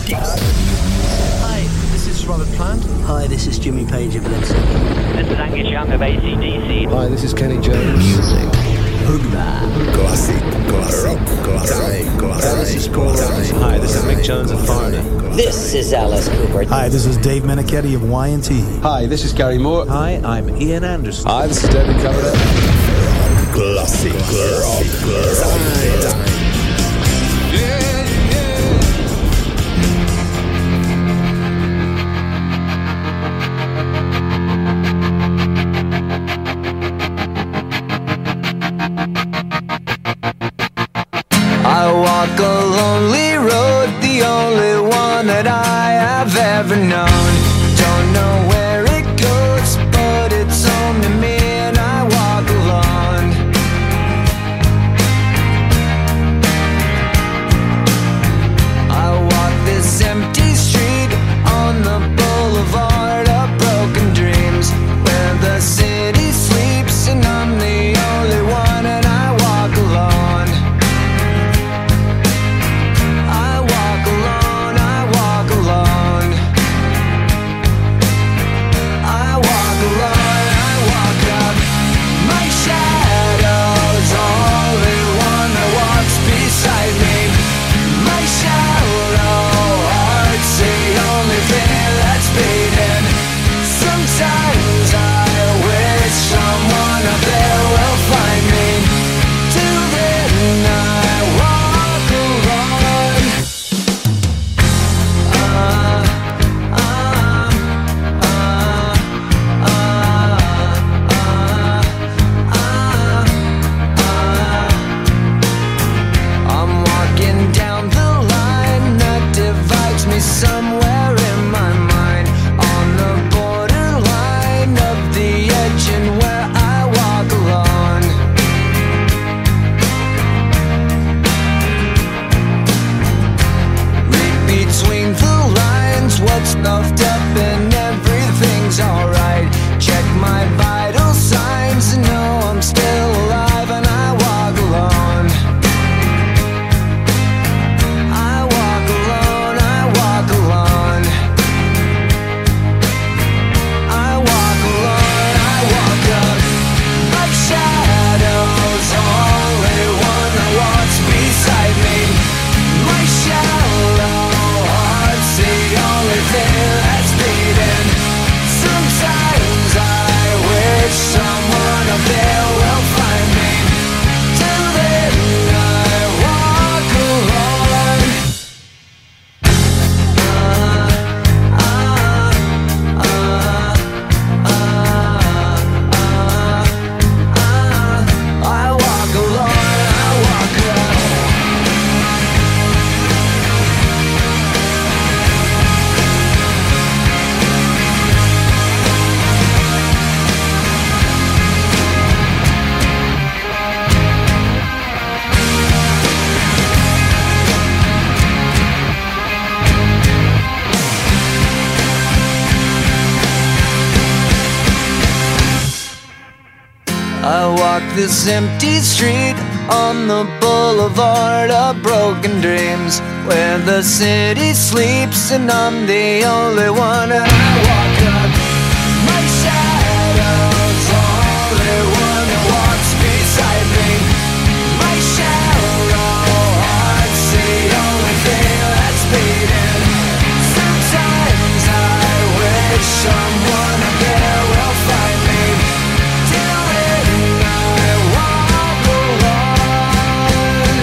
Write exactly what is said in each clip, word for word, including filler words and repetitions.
Hi, this is Robert Plant. Hi, this is Jimmy Page of Led Zeppelin. This is Angus Young of A C D C. Hi, this is Kenny Jones. Music. Hoogba. Classic, classic, classic, classic. This is Paul Rose. Hi, this is Mick Jones of Foreigner. This is Alice Cooper. Hi, this is Dave Meniketti of Y and T. Hi, this is Gary Moore. Hi, I'm Ian Anderson. Hi, this is David Coverdale. Classic, classic, classic. I walk a lonely road, the only one that I have ever known. Don't know where it goes, but it's home to me and I walk alone. I walk this empty street on the boulevard of broken dreams, where the city sleeps and I'm the only one and I walk alone. Somewhere in my mind, on the borderline of the edge, and where I walk alone. Read between the lines, what's left up and everything's alright. Check my vital signs and know I'm still alive and I walk alone. I walk this empty street on the boulevard of broken dreams, where the city sleeps and I'm the only one, and I walk up. My shadow's the only one that walks beside me. My shallow heart's the only thing that's beating. Sometimes I wish someone up there will find me. Till then I walk alone.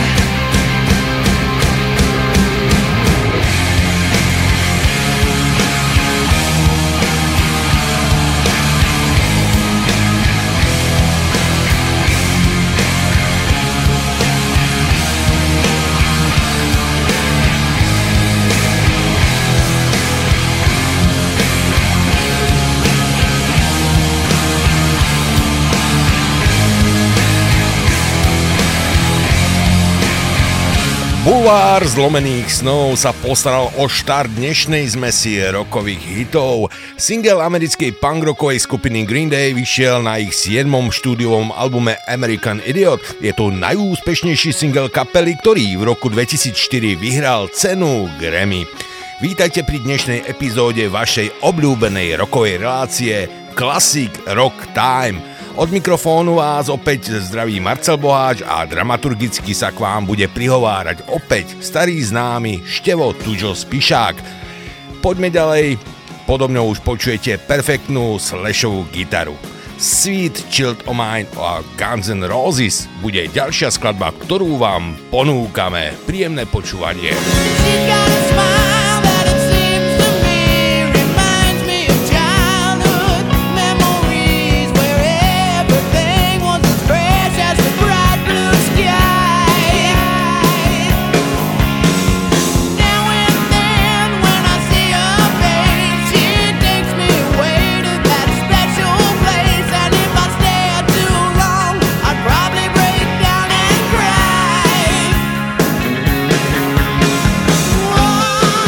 Bulvár zlomených snov sa postaral o štart dnešnej zmesie rokových hitov. Single americkej punkrockovej skupiny Green Day vyšiel na ich siedmom štúdiovom albume American Idiot. Je to najúspešnejší single kapely, ktorý v roku dvetisícštyri vyhral cenu Grammy. Vítajte pri dnešnej epizóde vašej obľúbenej rockovej relácie Classic Rock Time. Od mikrofónu vás opäť zdraví Marcel Boháč a dramaturgicky sa k vám bude prihovárať opäť starý známy Števo Tuďo Spišák. Poďme ďalej, podo mňou už počujete perfektnú slashovú gitaru. Sweet Child O' Mine a Guns N' Roses bude ďalšia skladba, ktorú vám ponúkame. Príjemné počúvanie. Whoa.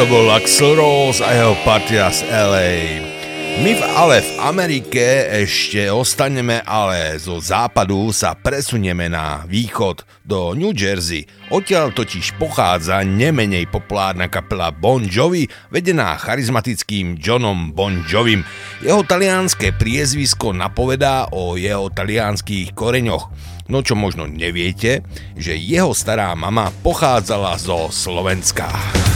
to bol Axl Rose a jeho partia z el ej. My v, ale v Amerike ešte ostaneme, ale zo západu sa presunieme na východ do New Jersey. Odtiaľ totiž pochádza nemenej populárna kapela Bon Jovi, vedená charizmatickým Johnom Bon Jovim. Jeho talianské priezvisko napovedá o jeho talianských koreňoch. No čo možno neviete, že jeho stará mama pochádzala zo Slovenska.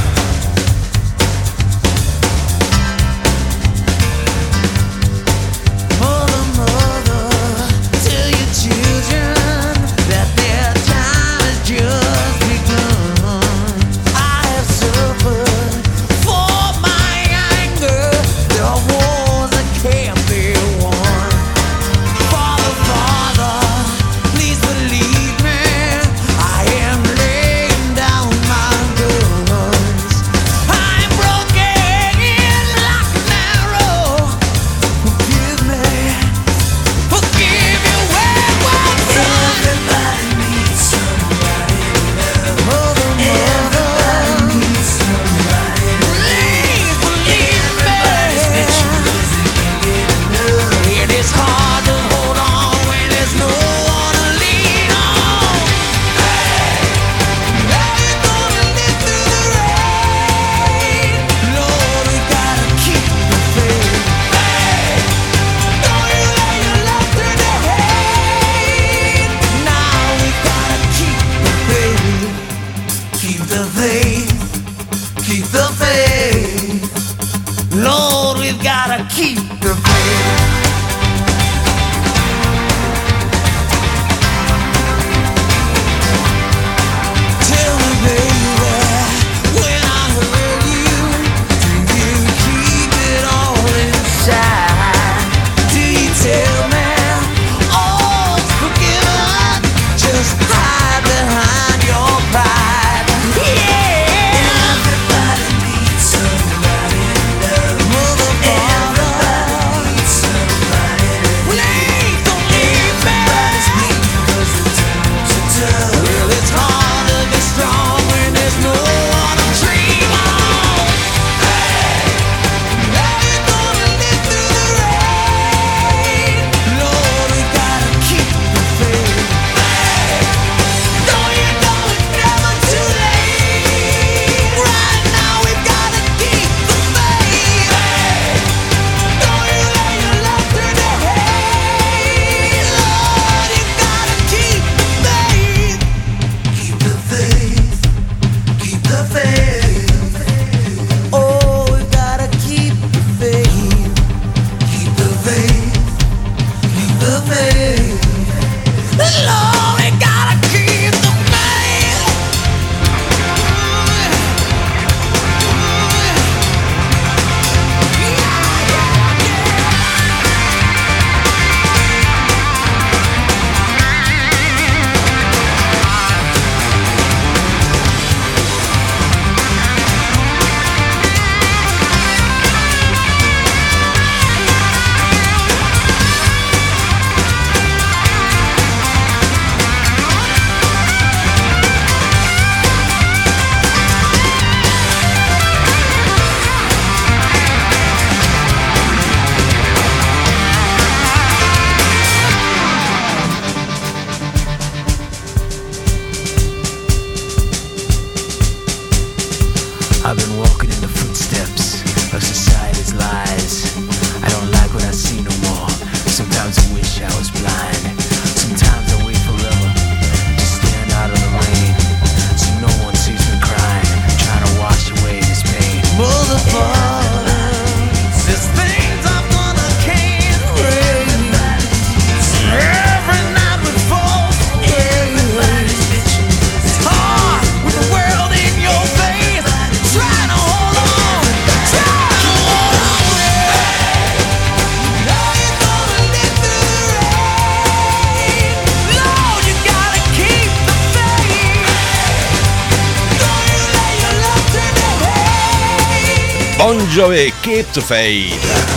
Bon Jovi Keep the Faith.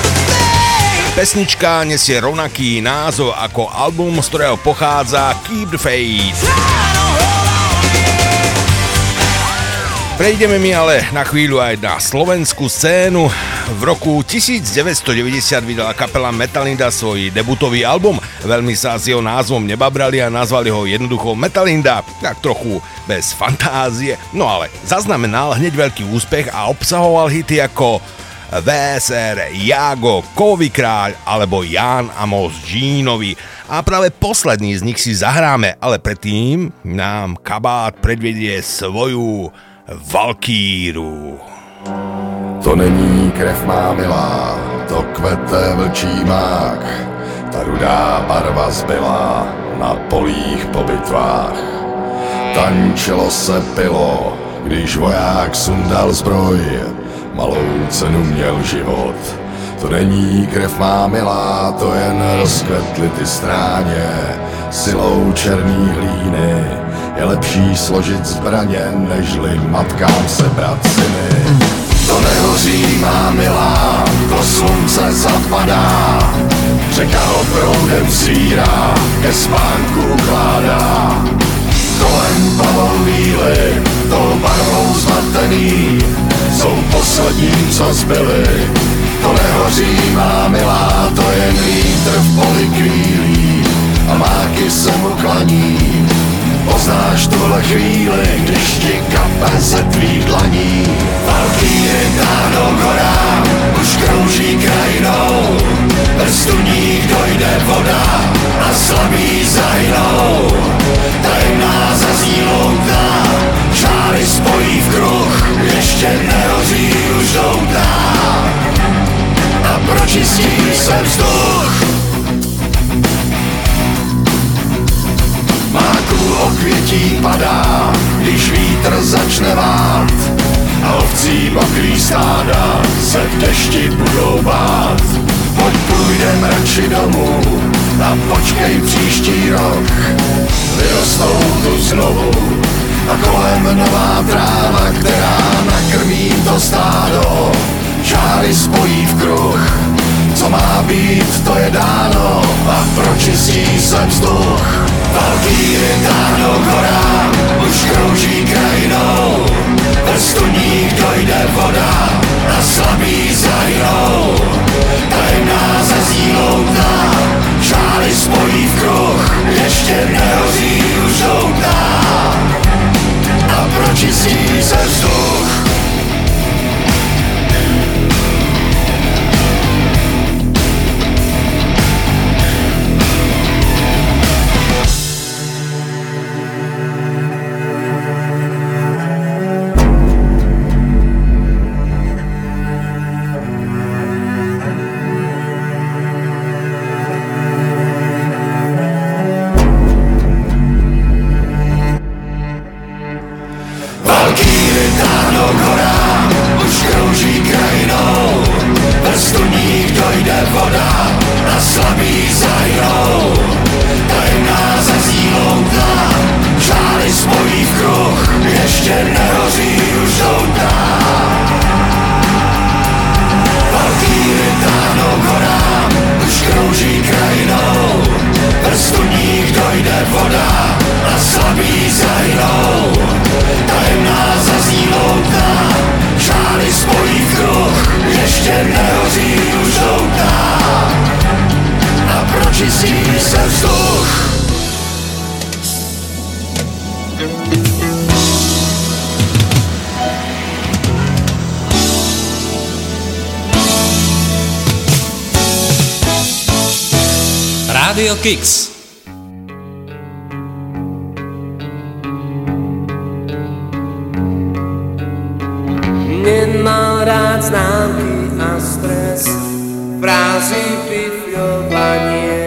Pesnička nesie rovnaký názov ako album, z ktorého pochádza Keep the Faith. Prejdeme mi ale na chvíľu aj na slovenskú scénu. V roku devätnásťstodeväťdesiat vydala kapela Metalinda svoj debutový album. Veľmi sa s jeho názvom nebabrali a nazvali ho jednoducho Metalinda, tak trochu bez fantázie. No ale zaznamenal hneď veľký úspech a obsahoval hity ako vé es er, Jágo, Kovový kráľ alebo Ján Amos Džínovi. A práve posledný z nich si zahráme, ale predtým nám Kabát predvedie svoju Valkýru. To není krev má milá, to kvete vlčí mák, ta rudá barva zbyla na polích po bitvách. Tančilo se pilo, když voják sundal zbroj, malou cenu měl život. To není krev má milá, to jen rozkvetly ty stráně, silou černý hlíny je lepší složit zbraně, nežli matkám sebrat syny. To nehoří má milá, to slunce zapadá, řeka ho proudem svírá, ke spánku ukládá. Kolem pavou víly, tou barvou zmatený, jsou poslední, co zbyli. To nehoří má milá, to jen vítr v poli kvílí a máky se mu klaní. Poznáš tuhle chvíli, když ti kape ze tvých dlaní. Valkýry táhnou k horám, už krouží krajinou, vrstevník dojde voda a slabí zahynou. Tajemná zazní louta, žáry spojí v kruh, ještě nehoří už doutá a pročistí se vzduch. Máků okvětí padá, když vítr začne vát a ovcí mokrý stáda se v dešti budou bát. Pojď půjdem radši domů a počkej příští rok, vyrostou tu znovu a kolem nová tráva, která nakrmí to stádo. Žáry spojí v kruh, co má být, to je dáno a pročistí se vzduch. Valkýry táhnou k horám, už krouží krajinou, vrstevník dojde voda a slabí zahynou. Tajemná zazní louta, žáry spojí v kruh, ještě nehoří už doutá a pročistí se vzduch. Radio Kicks. Nemal rád známky a stres, frázy, pifľovanie.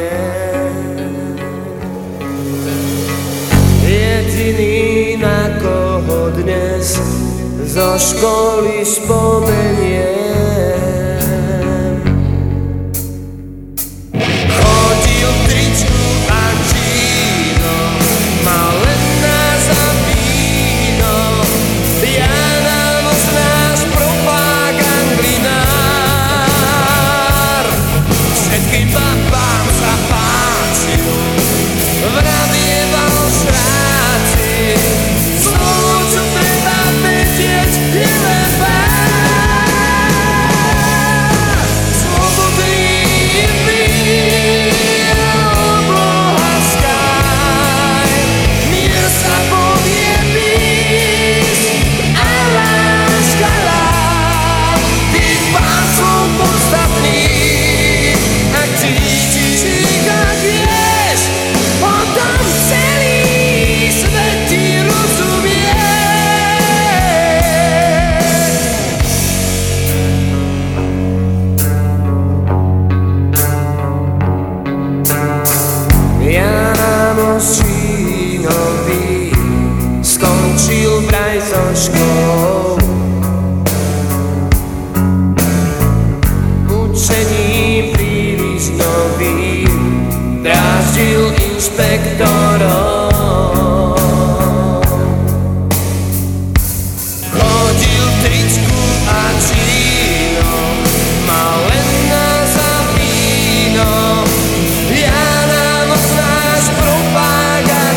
Jediný, na koho dnes zo školy spomeniem, Vravieval sráci, znovu čo treba vedieť inšpektorom. Chodil v tričku a číno, mal len nás za víno. Ja nám náš propagát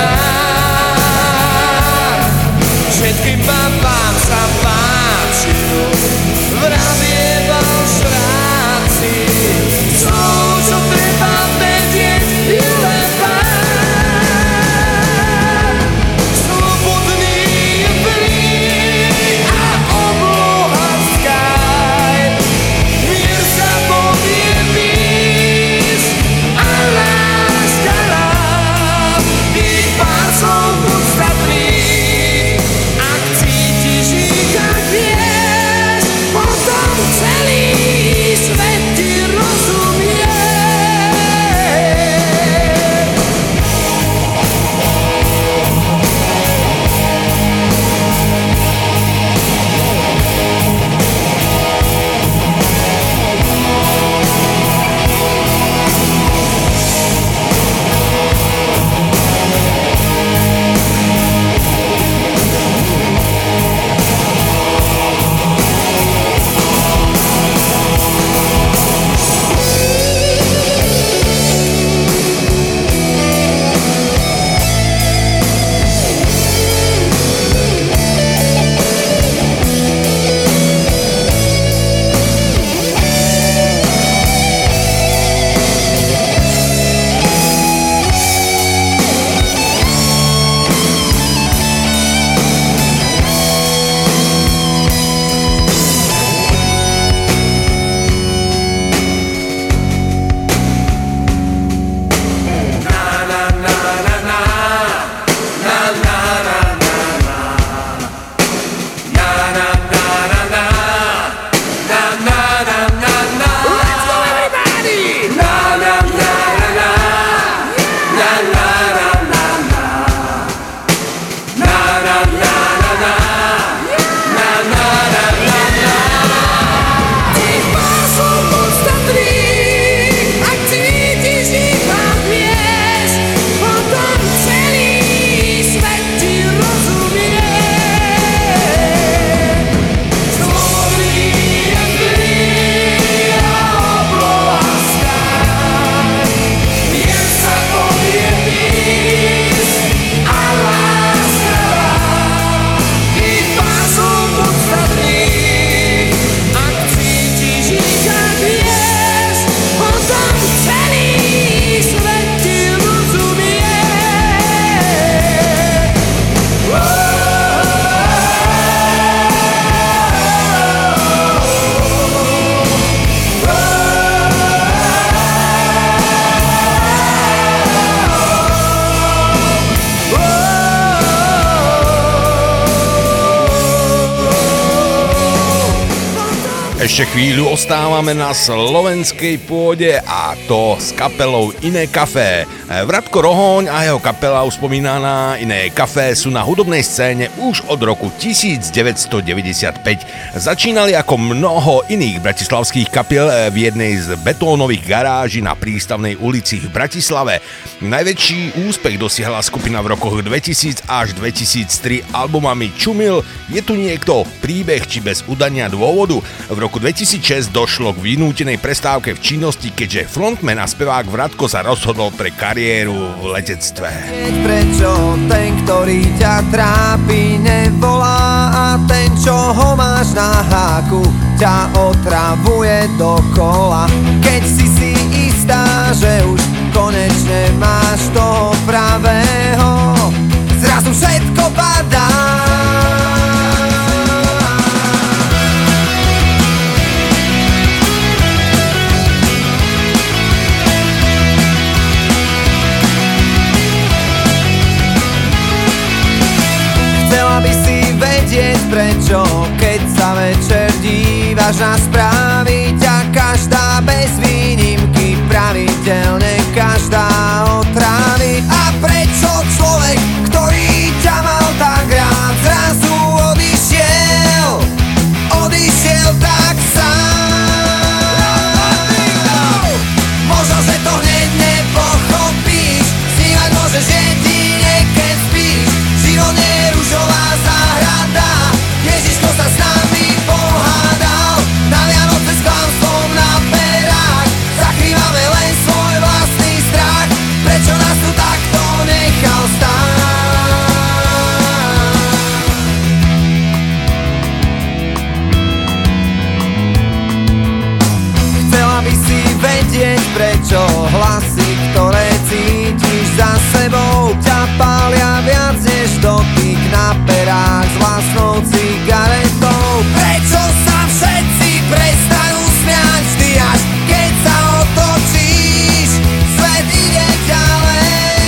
plinár. Všetkým babám sa páčil, vravieval šráci. Sú, čo treba vedieť, je len pár. Slobodný je plný a obloha sky. Mier sa povie peace a láska love. Tých pár slov podstatných, ak cítiš ich, ak vieš, potom celý svet ti rozumie. Ešte chvíľu ostávame na slovenskej pôde a to s kapelou Iné Café. Vratko Rohoň a jeho kapela uspomínaná Iné Café sú na hudobnej scéne už od roku devätnásťstodeväťdesiatpäť. Začínali ako mnoho iných bratislavských kapiel v jednej z betónových garáží na Prístavnej ulici v Bratislave. Najväčší úspech dosiahla skupina v rokoch dvetisíc až dvetisíctri albumami Čumil, Je tu niekto, Príbeh či Bez udania dôvodu. V roku dvetisícšesť došlo k vynútenej prestávke v činnosti, keďže frontman a spevák Vratko sa rozhodol pre kariéru v letectve. Prečo ten, ktorý ťa trápi, nevolá a ten, čo ho máš na háku, ťa otravuje dokola. Keď si si istá, že už konečne máš toho pravého, zrazu všetko padá. Chcela by si vedieť prečo, keď sa večer dívaš na správy, ťa každá bez výnimky pravidelne každá otrávi. A prečo človek, ktorý ťa mal tak rád, zrazu odišiel, odišiel tak sám. Možno, že to hneď nepochopíš, vedieť prečo hlasy, ktoré cítiš za sebou, ťa pália viac než dotyk na perách s vlastnou cigaretou. Prečo sa všetci prestanú smiať vždy až keď sa otočíš, svet ide ďalej.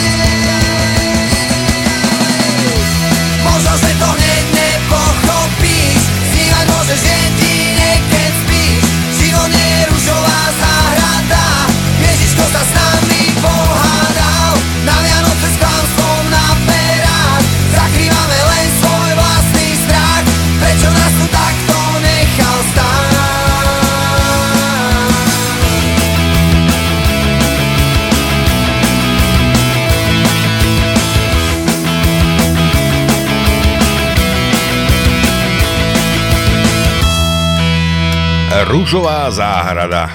Možno, že to hneď nepochopíš, snívať môžeš jedine keď spíš. Život nie je ružová záhrada, Ježiško sa s nami pohádal. Na Vianoce s klamstvom na perách zakrývame len svoj vlastný strach. Prečo nás tu takto nechal stáť? Ružová záhrada.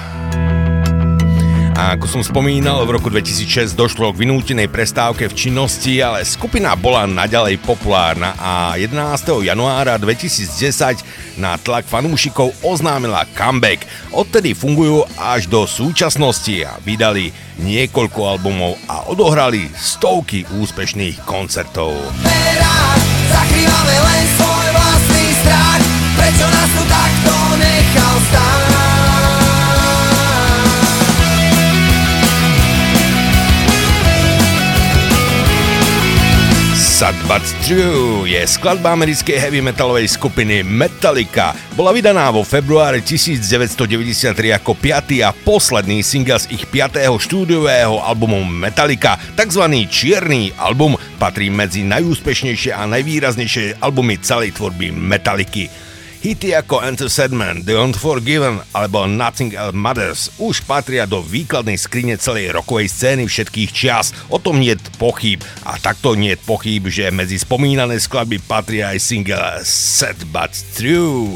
A ako som spomínal, v roku dvetisícšesť došlo k vynútenej prestávke v činnosti, ale skupina bola naďalej populárna a jedenásteho januára dvetisícdesať na tlak fanúšikov oznámila comeback. Odtedy fungujú až do súčasnosti a vydali niekoľko albumov a odohrali stovky úspešných koncertov. Zakrývame len svoj vlastný strach, prečo nás tu takto nechal stáť? Sad But True je skladba americkej heavy metalovej skupiny Metallica. Bola vydaná vo februári devätnásťstodeväťdesiattri ako piaty a posledný single z ich piatého štúdiového albumu Metallica. Takzvaný čierny album patrí medzi najúspešnejšie a najvýraznejšie albumy celej tvorby Metalliky. Hity ako Enter Sandman, The Unforgiven alebo Nothing Else Matters už patria do výkladnej skrine celej rockovej scény všetkých čias. O tom niet pochýb a takto niet pochýb, že medzi spomínané skladby patria aj single Sad But True.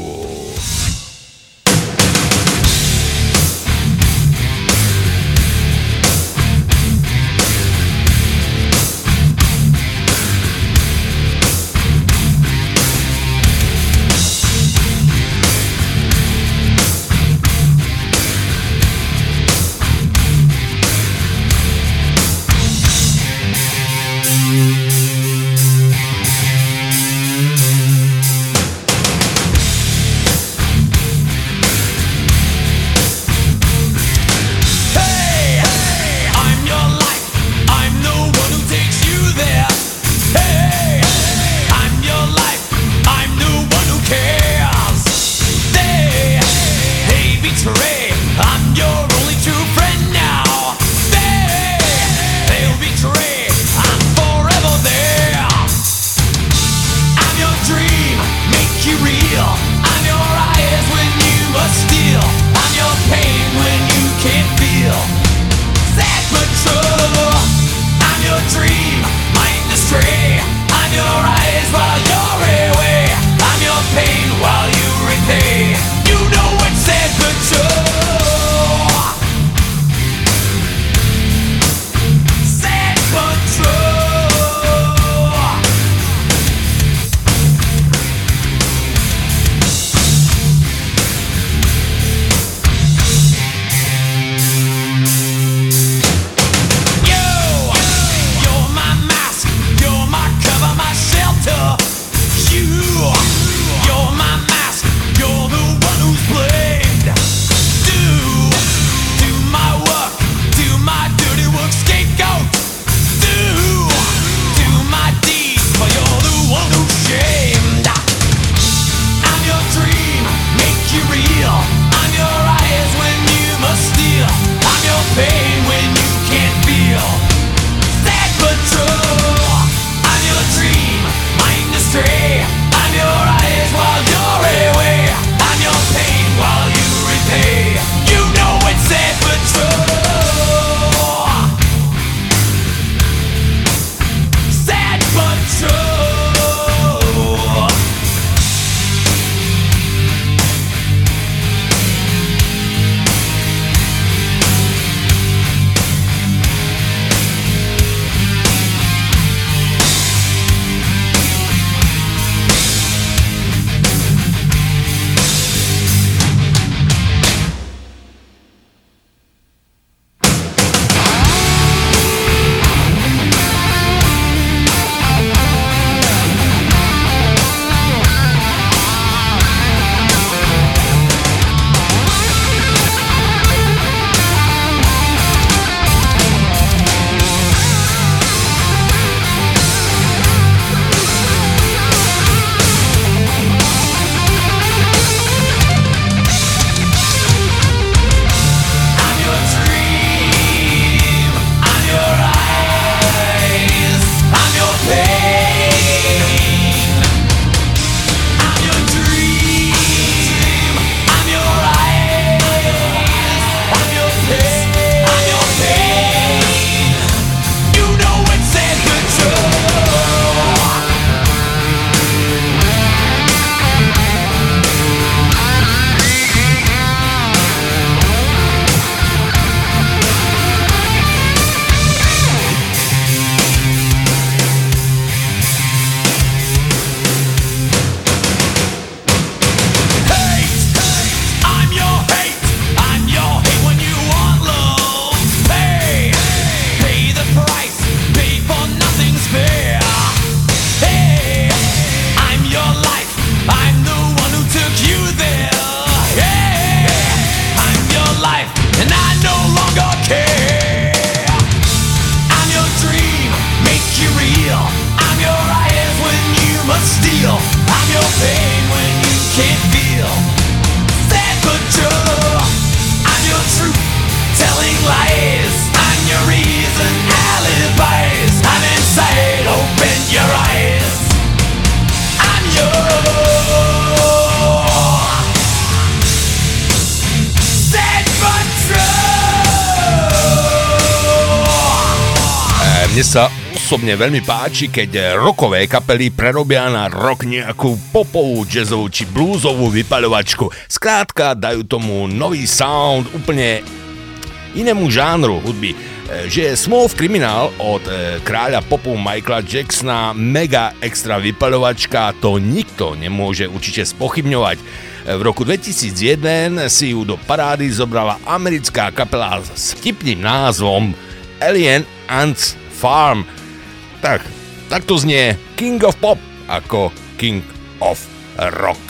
mne sa osobne veľmi páči, keď rockové kapely prerobia na rock nejakú popovú, jazzovú či bluesovú vypaľovačku. Skrátka dajú tomu nový sound, úplne inému žánru hudby. Že je Smooth Criminal od kráľa popu Michaela Jacksona mega extra vypaľovačka, to nikto nemôže určite spochybňovať. V roku dvetisícjeden si ju do parády zobrala americká kapela s vtipným názvom Alien Ants Farm. Tak, tak to znie King of Pop ako King of Rock.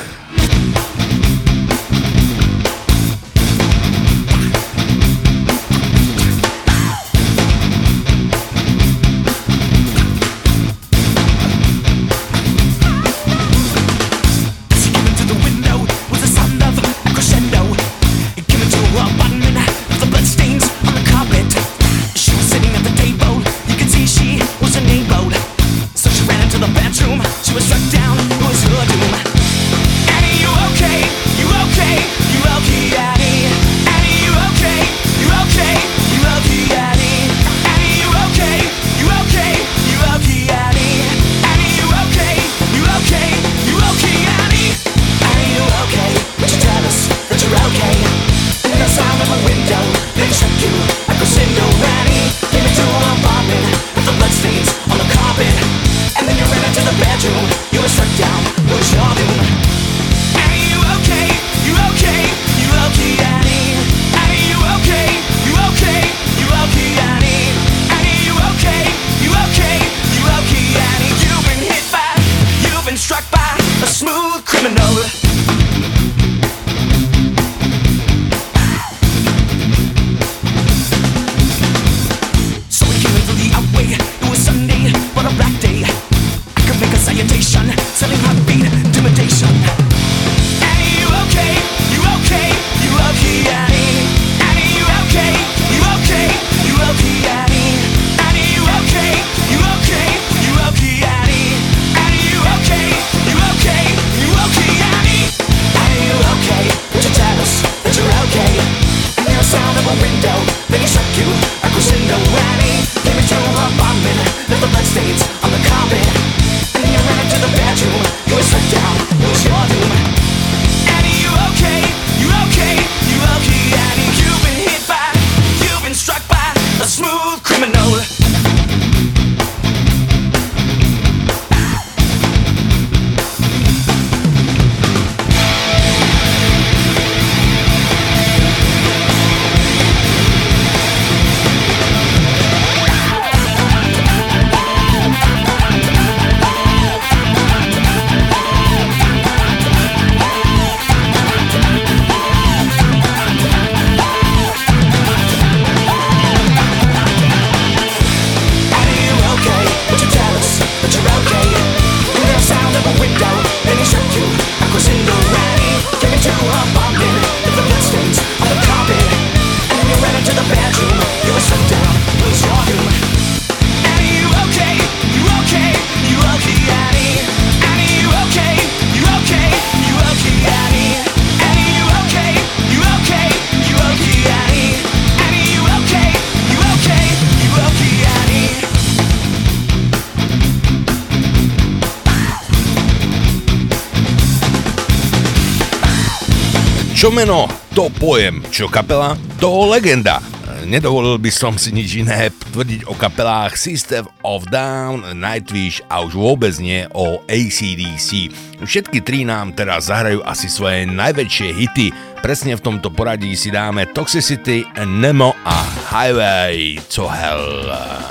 She was struck down, it was her doom. Annie, you okay? You okay? You okay, Annie? Annie, you okay? You okay? You okay, Annie? Annie, you okay? You okay? You okay, Annie? Annie, you okay? You okay? You okay, Annie? Annie, you okay? Would you tell us that you're okay? And the sound of a window, they struck you like a window, Annie. Came into an apartment with the bloodstains on the carpet. And then you ran into the bedroom. You were struck down. It was your doom. Annie, you okay? You okay? You okay, Annie? Annie, you okay? You okay? You okay, Annie? Annie, you okay? You okay? You okay, Annie? You've been hit by, you've been struck by a smooth criminal. So we came into the outway. It was Sunday, but a black day. Make a salutation, selling heartbeat, intimidation. Annie, you okay? You okay? You okay, Annie? Annie, you okay? You okay? You okay, Annie? Annie, you okay? You okay? You okay, Annie? Annie, you okay? You okay? You okay, Annie? Annie, you okay? Would you tell us that you're okay? And the sound of a window, then he struck you like a window, Annie. Came into her apartment, left the bloodstains on the carpet. To the bedroom, you were struck down, it was your doom. Annie, you okay? You okay? You okay, Annie? You've been hit by, you've been struck by a smooth criminal. Čo meno, to pojem, čo kapela, to legenda. Nedovolil by som si nič iné tvrdiť o kapelách System of Down, Nightwish a už vôbec nie o á cé dé cé. Všetky tri nám teraz zahrajú asi svoje najväčšie hity. Presne v tomto poradí si dáme Toxicity, Nemo a Highway to Hell.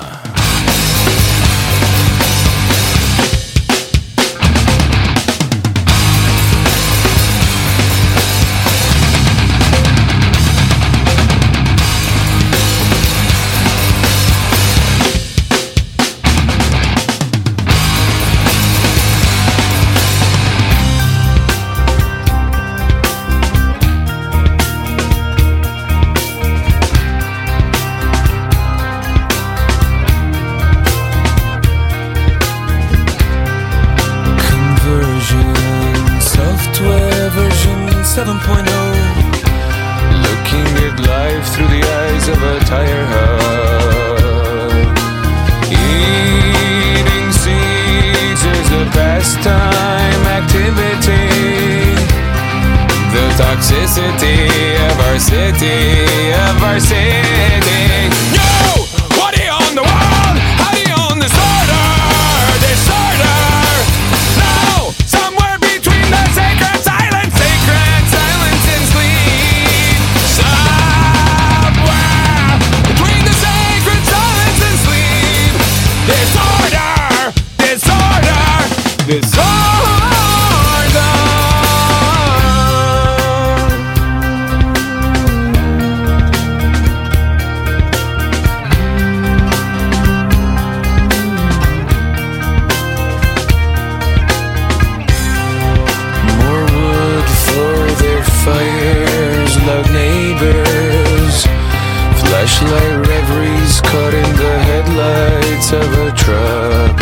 seven point oh, looking at life through the eyes of a tire hub. necessity of our city. Yo, what do you own the world? How do you own this order? Disorder. No, somewhere between the sacred silence, sacred silence and sleep. Somewhere between the sacred silence and sleep. Disorder, disorder, disorder. Flashlight reveries caught in the headlights of a truck.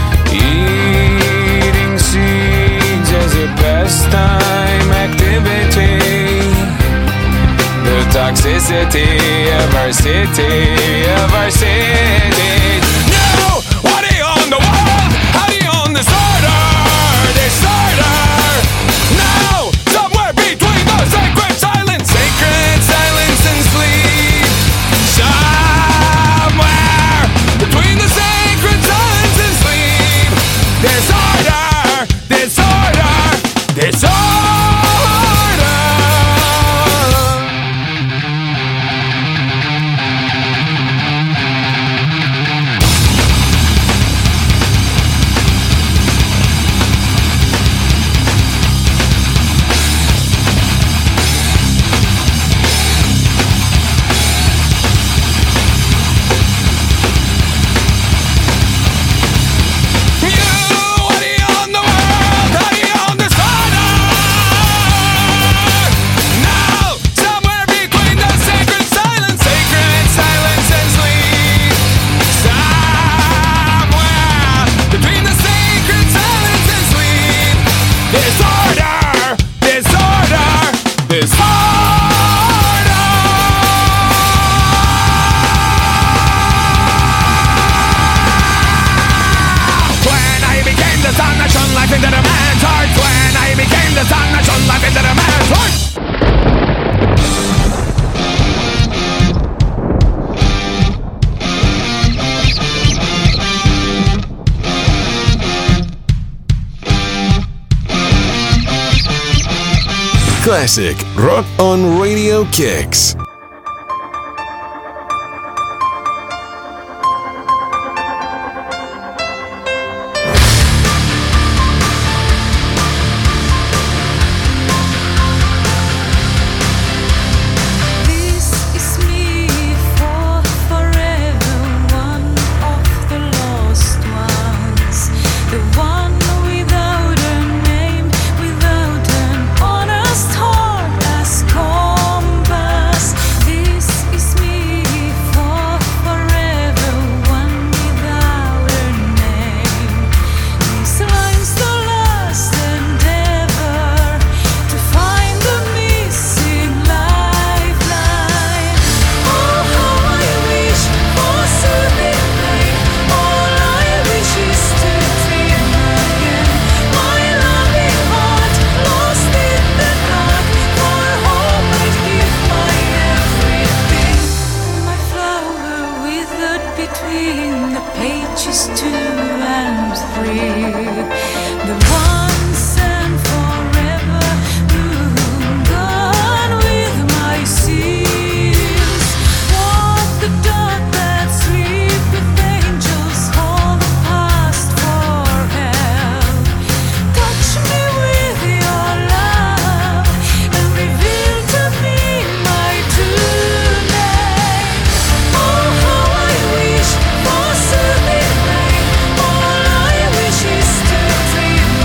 Eating seeds as a pastime activity. The toxicity of our city, of our city. No! What do you own the world? How do you own this order? Disorder! No! Somewhere between the sacred silence, sacred silence and sleep. Somewhere between the sacred silence and sleep. Disorder, disorder, disorder. Into the man's heart when I became the sun that shone life into the man's heart. Classic Rock on Radio Kicks. All I wish is to dream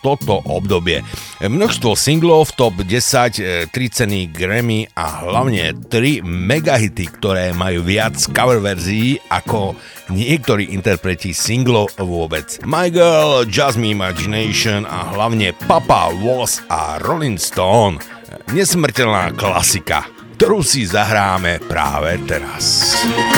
toto obdobie. Množstvo singlov v top desať, tri ceny Grammy a hlavne tri megahity, ktoré majú viac cover verzií ako niektorí interpreti singlov vôbec. My Girl, Just Me Imagination a hlavne Papa Was a Rolling Stone. Nesmrteľná klasika, ktorú si zahráme práve teraz.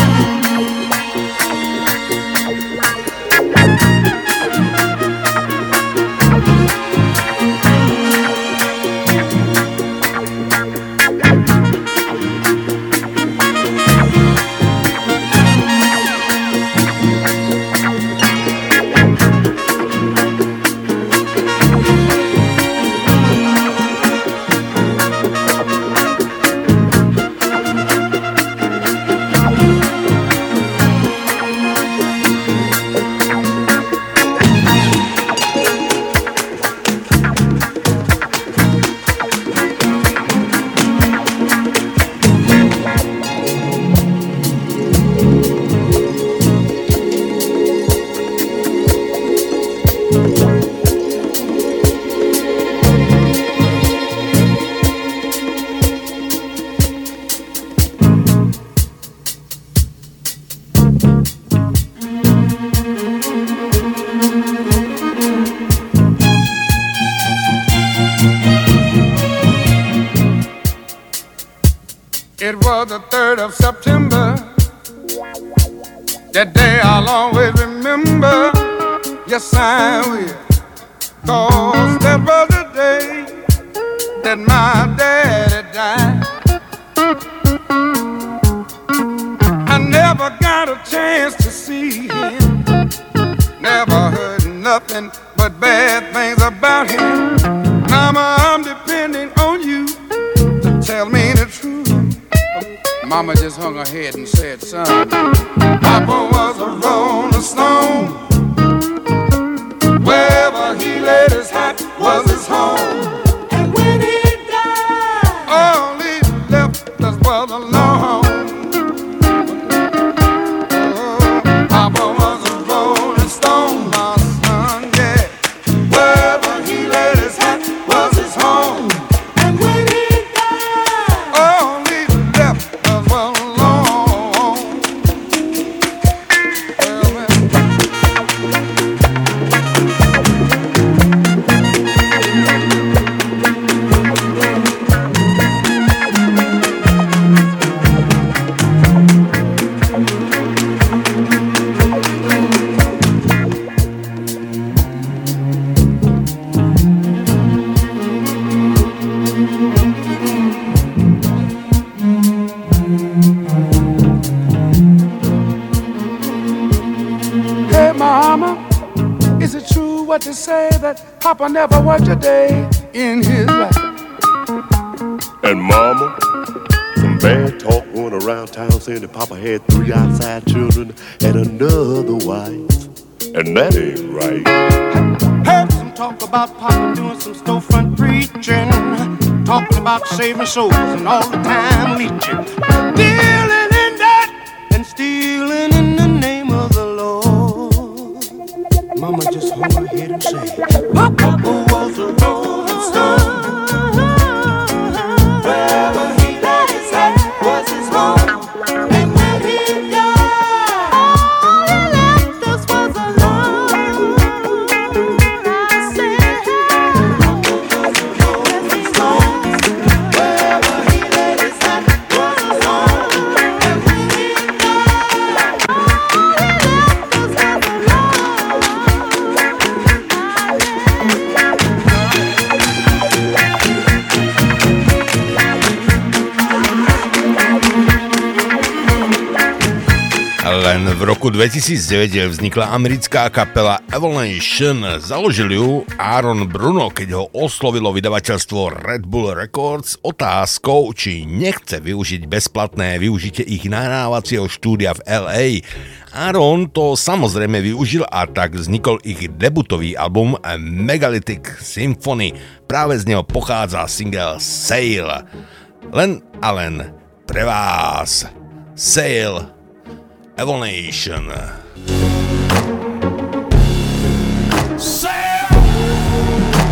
It was the third of September. That day I'll always remember. Yes, I will. Cause that was the day that my daddy died. I never got a chance to see him. Never heard nothing but bad things about him. Mama, I'm depending on you to tell me the truth. Mama just hung her head and said, son, Papa was a rolling stone. Wherever he laid his hat was his home. And when he died, all he left us was alone. Oh, Papa was a rolling stone, my son, yeah. Wherever he laid his hat was his home. And when he died, all he left us was alone. Hey, Mama, is it true what they say that Papa never worked a day in his life? And Mama, some bad talk going around town saying that Papa had three outside children and another wife. And that ain't right. Heard some talk about Papa doing some storefront preaching, talking about saving souls and all the time leeching, dealing in that and stealing in the name of the Lord. Mama just hung her head and said, Papa was a rolling stone. Wherever he laid his hat was his home. And when he died, all he left us was alone. I said, Papa was a rolling stone. Wherever he laid his hat was his home. And when he died, all he left us was alone. Len v roku dvetisícdeväť vznikla americká kapela Evolution. Založil ju Aaron Bruno, keď ho oslovilo vydavateľstvo Red Bull Records otázkou, či nechce využiť bezplatné využitie ich nahrávacieho štúdia v el ej. Aaron to samozrejme využil a tak vznikol ich debutový album Megalithic Symphony. Práve z neho pochádza single Sail. Len a len pre vás. Sail Evolution. Sail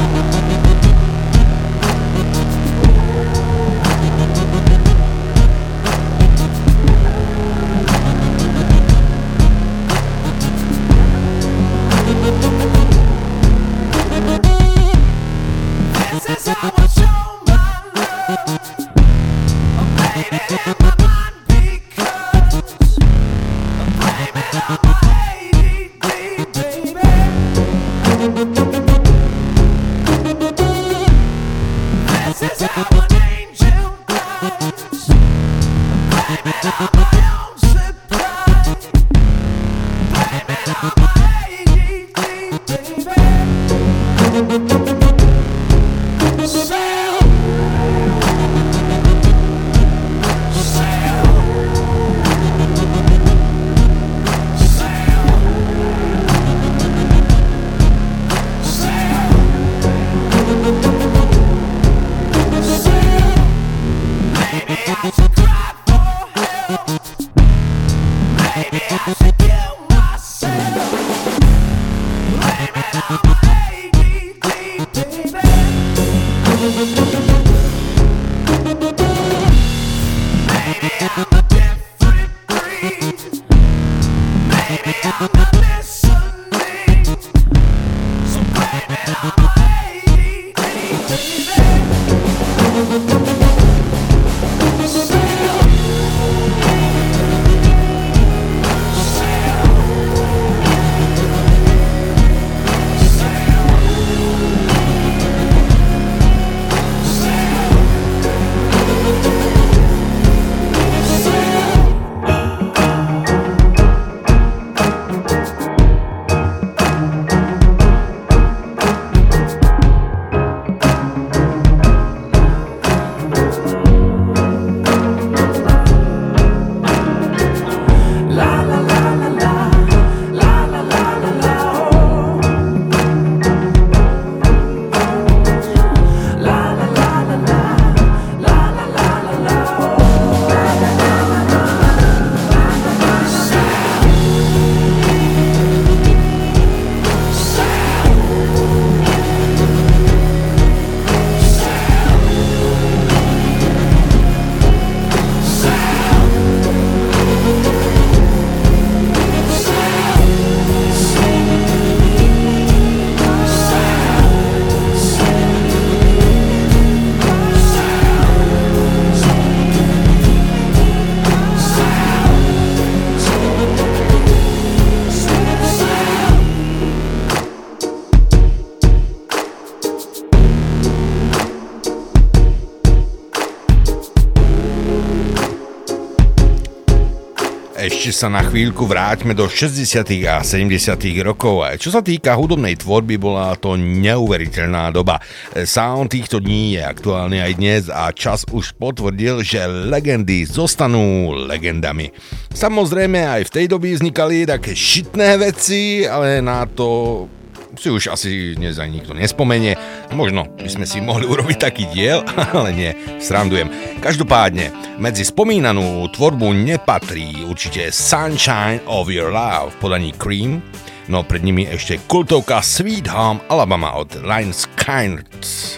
Ešte sa na chvíľku vráťme do šesťdesiatych a sedemdesiatych rokov. Čo sa týka hudobnej tvorby, bola to neuveriteľná doba. Sound týchto dní je aktuálny aj dnes a čas už potvrdil, že legendy zostanú legendami. Samozrejme aj v tej dobe vznikali také šitné veci, ale na to si už asi dnes aj nikto nespomenie. Možno by sme si mohli urobiť taký diel, ale nie, srandujem. Každopádne, medzi spomínanú tvorbu nepatrí určite Sunshine of Your Love v podaní Cream, no pred nimi ešte kultovka Sweet Home Alabama od Lynyrd Skynyrd.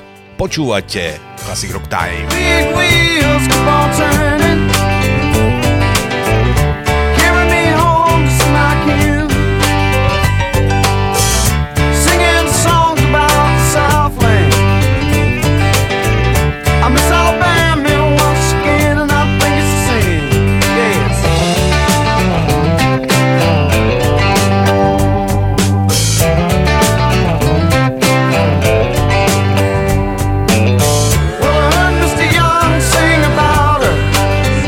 Počúvate Classic Rock Time. Big wheels keep on turning, carry me home to see my kids. I miss Alabama once again, and I think it's the same. Yes. Well, I heard Mister Young sing about her.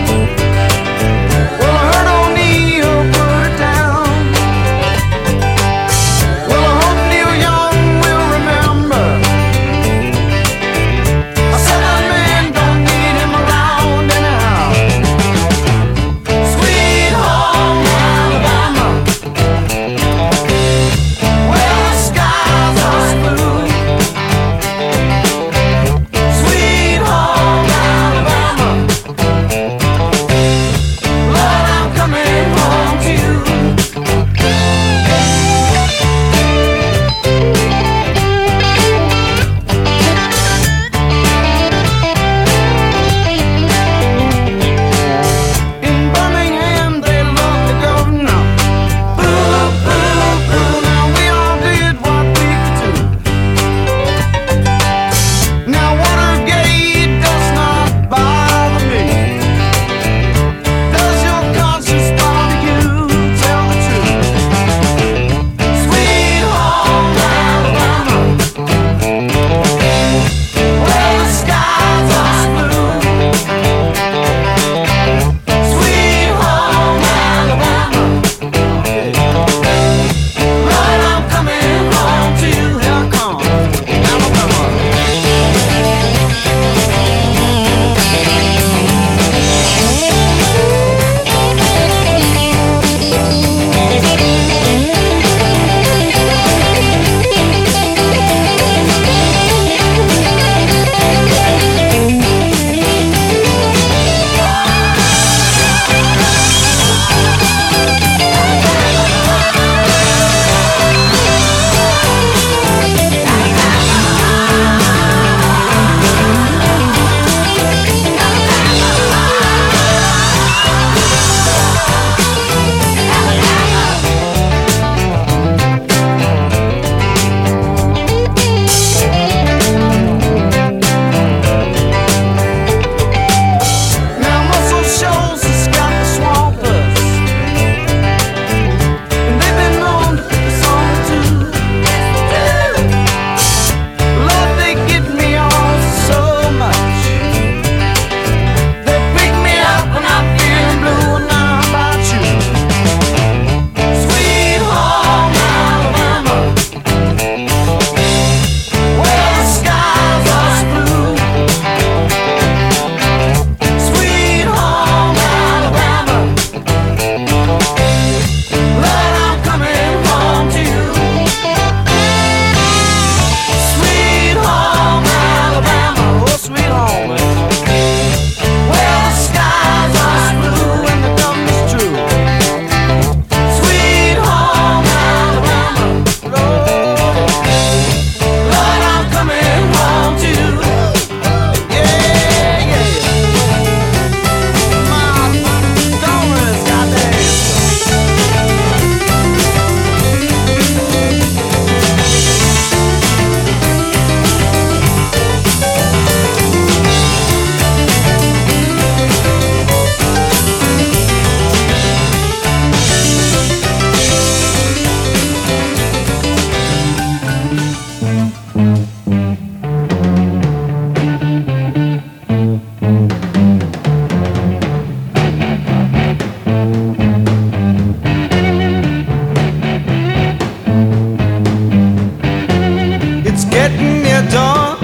getting near dawn.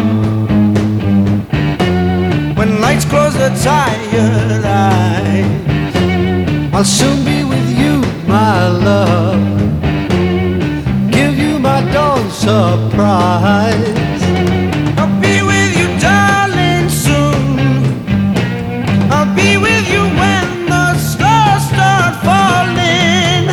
When lights close the tired eyes, I'll soon be with you, my love. Give you my dawn surprise. I'll be with you, darling, soon. I'll be with you when the stars start falling.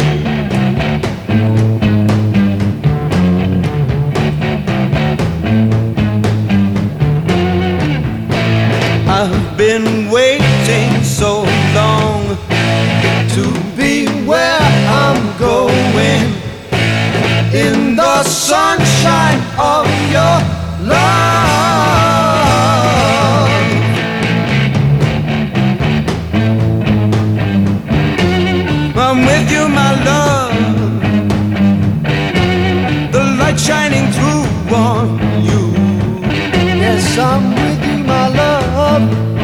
I've been waiting so long to be where I'm going, in the sunshine of your love. I'm with you, my love, the light shining through on you. Yes, I'm with you, my love.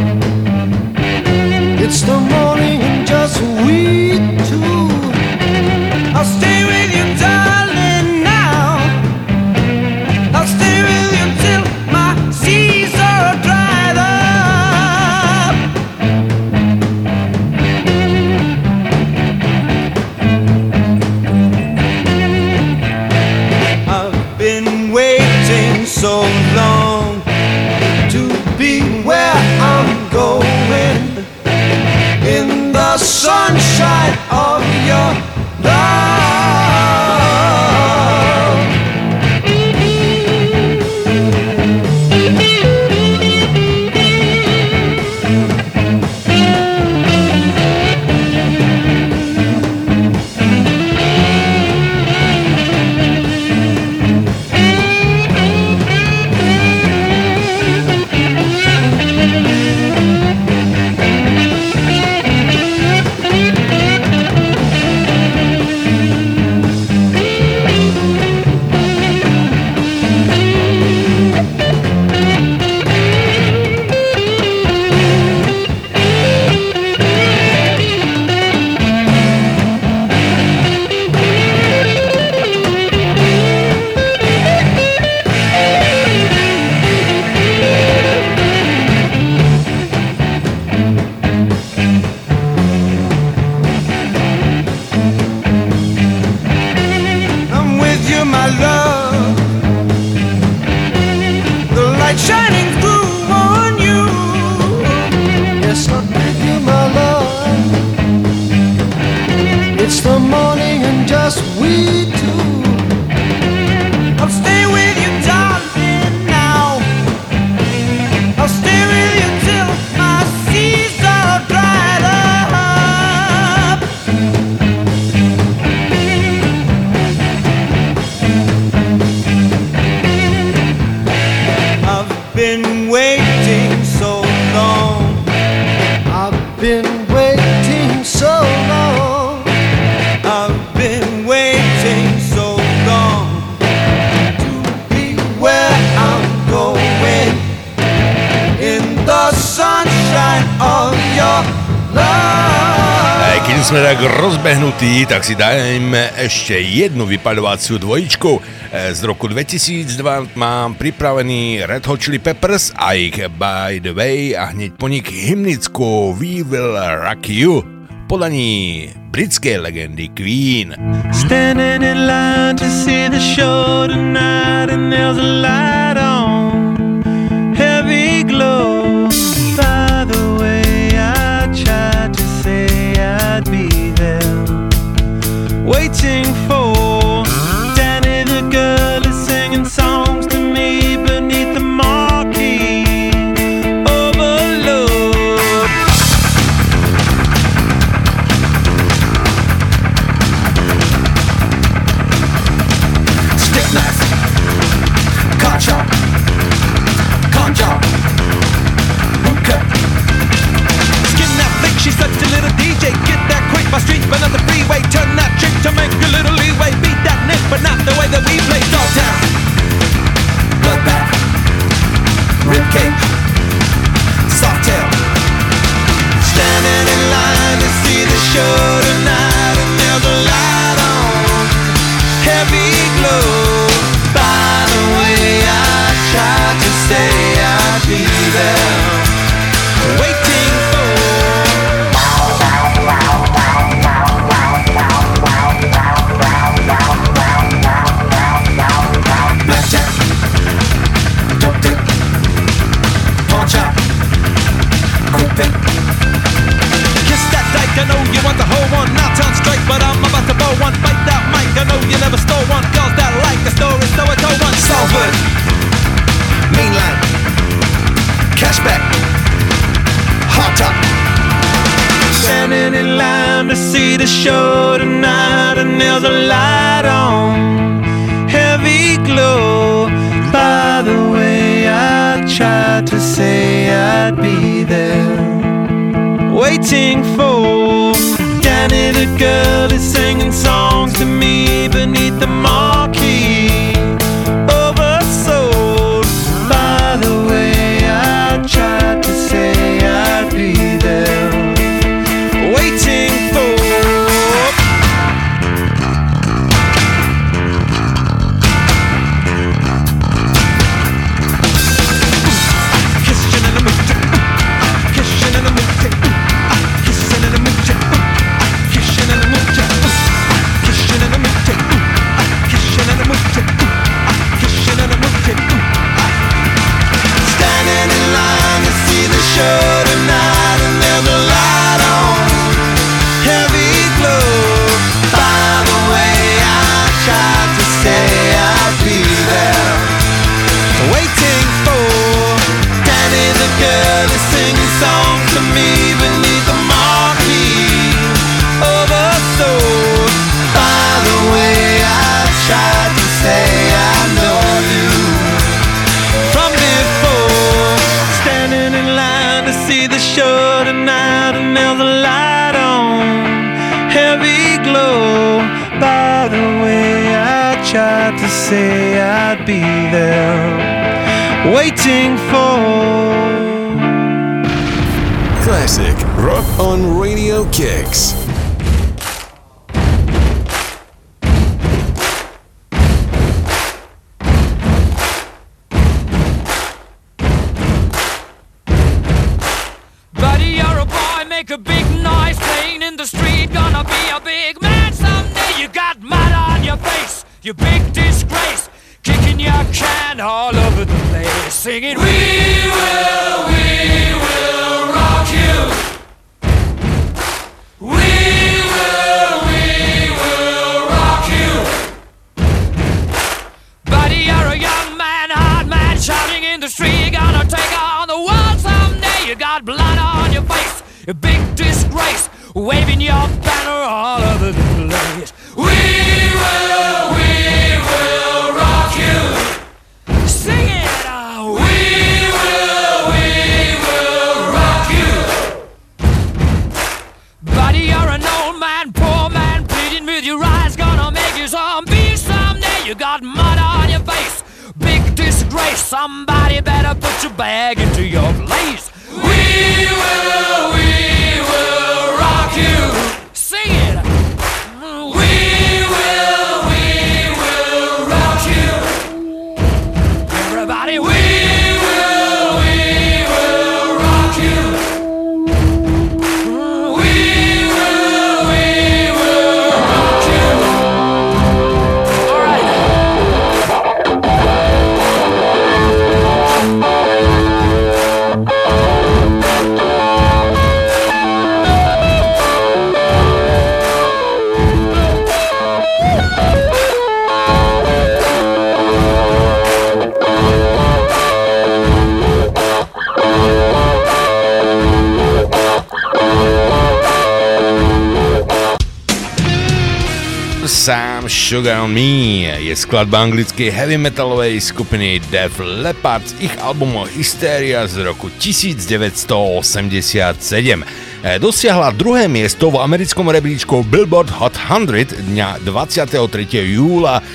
It's the morning and just we two. I'll stay with you, darling, now. I'll stay with you till my seas are dried up. I've been waiting so long to be where I'm going, in the sunshine of your love. Sme tak rozbehnutí, tak si dajme ešte jednu vypaľovaciu dvojičku. Z roku dvetisícdva mám pripravený Red Hot Chili Peppers a ich By the Way a hneď po nich hymnickú We Will Rock You v podaní britskej legendy Queen. Standing in line to see the show tonight, and there's a light on, heavy glow. By the way, I tried to say I'd be there, waiting for Danny the girl is singing songs to me beneath the marquee overload. Stick knife, know you never stole one. Girls that like the story, so I told one. Salford, mainland, cashback, hot top. Standing in line to see the show tonight, and there's a light on, heavy glow. By the way, I tried to say I'd be there, waiting for Danny the girl is singing songs to me beneath the marquee. Oversold. By the way, I tried to say I'd be there, waiting for. To say I'd be there, waiting for. Classic Rock on Radio Kicks. Buddy, you're a boy, make a big noise playing in the street. Gonna be a big man someday. You got mud on your face, you big disgrace, kicking your can all over the place, singing, we will, we will rock you. We will, we will rock you. Buddy, you're a young man, hard man, shouting in the street. You're gonna take on the world someday. You got blood on your face, you big disgrace, waving your banner all over the place. We will, we will rock you. Sing it out. We will, we will rock you. Buddy, you're an old man, poor man, pleading with your eyes, gonna make you zombie someday. You got mud on your face, big disgrace. Somebody better put your bag into your place. We will, we will rock you. Sing it. Everybody, we will, we will rock you. We will, we will rock you. All right. Some Sugar on Me je skladba anglickej heavy metalovej skupiny Def Leppard z ich albumu Hysteria z roku devätnásťstoosemdesiatsedem. Dosiahla druhé miesto v americkom rebríčku Billboard Hot sto dňa dvadsiateho tretieho júla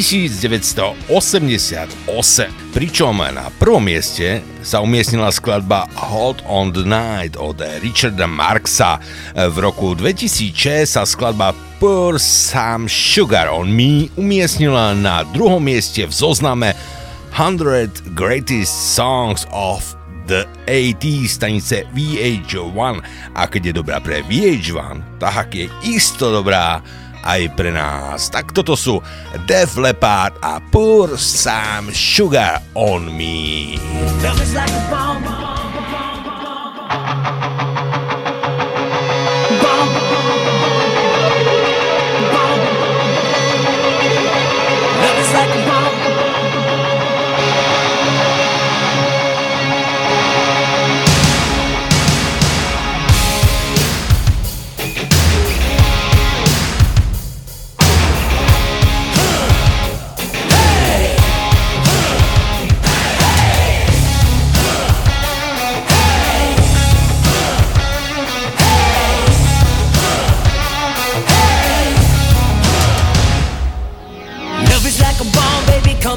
devätnásťstoosemdesiatosem. Pričom na prvom mieste sa umiestnila skladba Hold on the Night od Richarda Marxa. V roku dvetisícšesť sa skladba Pour Some Sugar on Me umiestnila na druhom mieste v zozname one hundred Greatest Songs of the ôsemdesiatych stanice vé há jeden. A keď je dobrá pre vé há jeden, tak je isto dobrá aj pre nás. Tak toto sú Def Leppard a Pour Some Sugar on Me.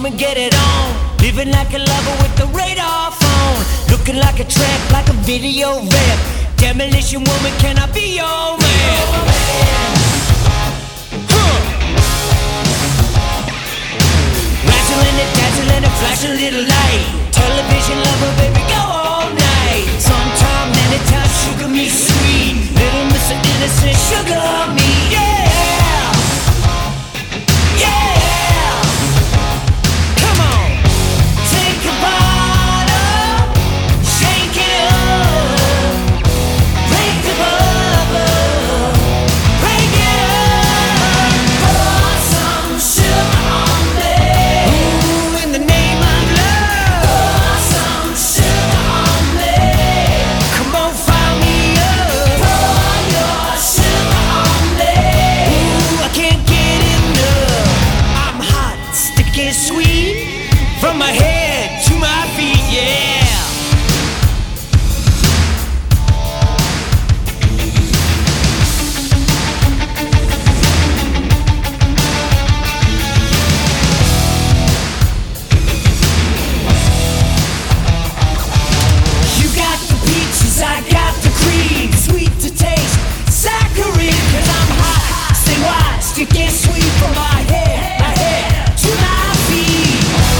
woman, get it on. Living like a lover with the radar phone. Looking like a tramp, like a video rip. Demolition woman, can I be your man? Huh. Razzling and dazzling and flashing little light. Television lover, baby, go all night. Sometime, anytime, sugar me sweet. Little Mister Innocent, sugar me, yeah. From my head to my feet, yeah. You got the peaches, I got the cream. Sweet to taste, saccharine. Cause I'm hot, stay watch, you get sweet from my head, my head to my feet.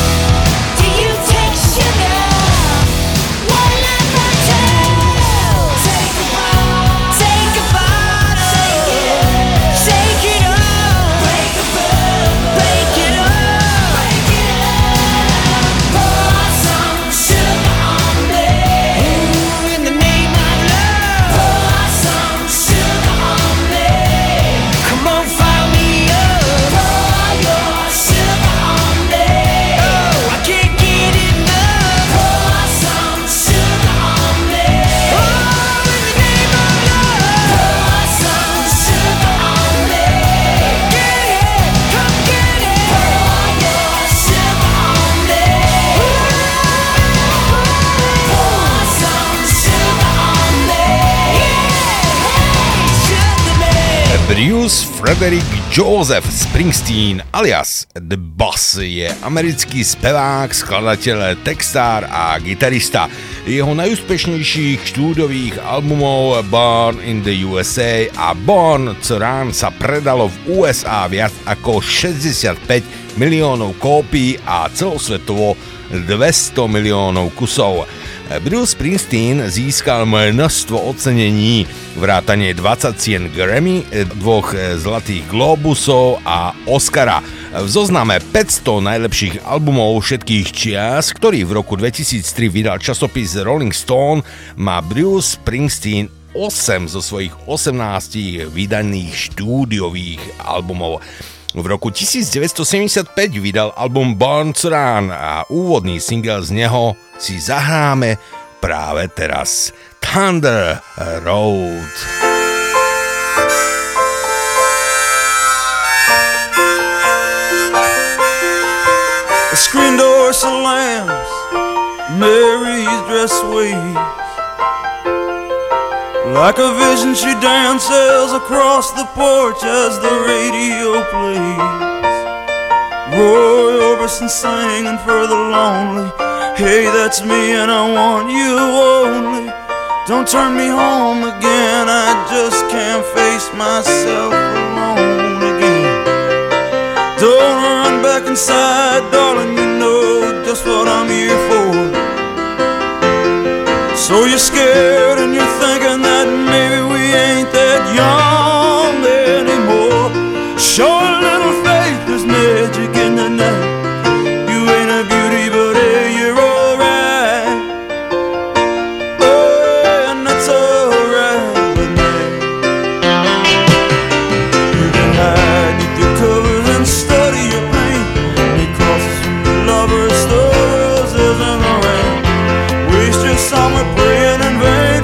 Bruce Frederick Joseph Springsteen alias The Boss je americký spevák, skladateľ, textár a gitarista. Jeho najúspešnejších štúdiových albumov Born in the U S A a Born to Run sa predalo v U S A viac ako šesťdesiatpäť miliónov kópií a celosvetovo dvesto miliónov kusov. Bruce Springsteen získal množstvo ocenení, vrátane dvadsať cien Grammy, dvoch zlatých globusov a Oscara. V zozname päťsto najlepších albumov všetkých čias, ktorý v roku dvetisíctri vydal časopis Rolling Stone, má Bruce Springsteen osem zo svojich osemnástich vydaných štúdiových albumov. V roku devätnásťstosedemdesiatpäť vydal album Born to Run a úvodný single z neho si zahráme práve teraz. Thunder Road. The screen door slams, Mary's dress waves. Like a vision she dances across the porch as the radio plays. Roy Orbison singing for the lonely. Hey, that's me and I want you only. Don't turn me home again, I just can't face myself alone again. Don't run back inside, darling, you know just what I'm here for. So you're scared and you're thinking that maybe we ain't that young anymore. Show a little faith, there's magic in the night. You ain't a beauty, but hey, you're alright. Oh, and that's alright with me. You can hide beneath your covers and study your pain. Because lovers, the roses and the rain. Waste your summer praying in vain.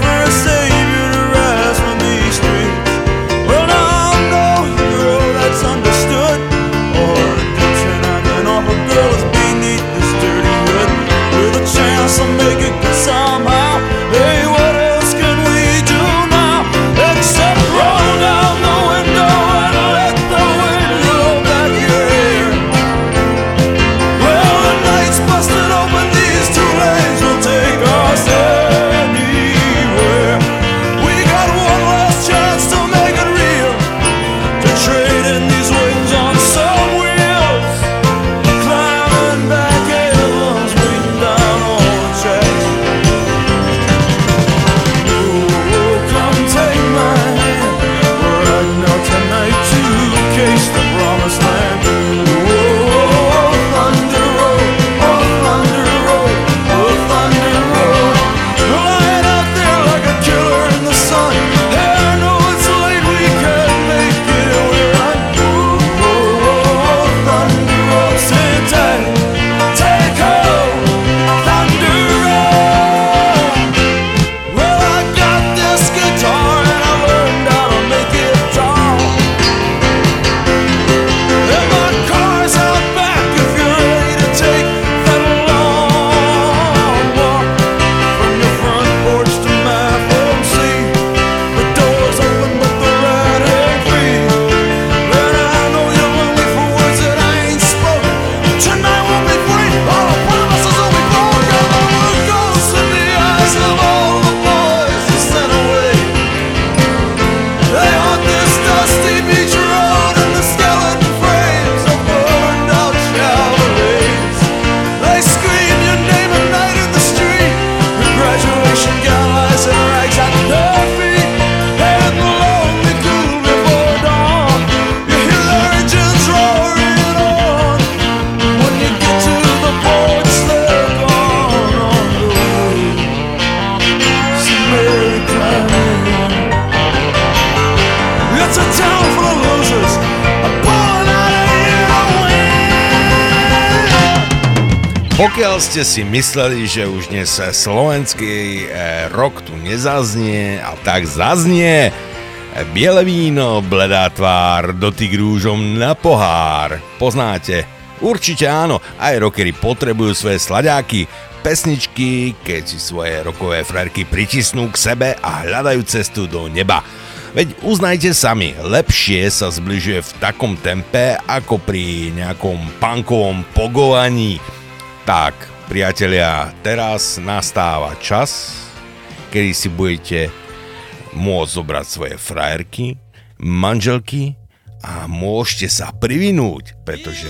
Pokiaľ ste si mysleli, že už dnes slovenský rock tu nezaznie, a tak zaznie. Biele víno, bledá tvár, dotyk rúžom na pohár. Poznáte? Určite áno, aj rockery potrebujú svoje sladáky, pesničky, keď si svoje rockové frérky pritisnú k sebe a hľadajú cestu do neba. Veď uznajte sami, lepšie sa zbližuje v takom tempe ako pri nejakom punkovom pogovaní. Tak, priatelia, teraz nastáva čas, kedy si budete môcť zobrať svoje frajerky, manželky a môžete sa privinúť, pretože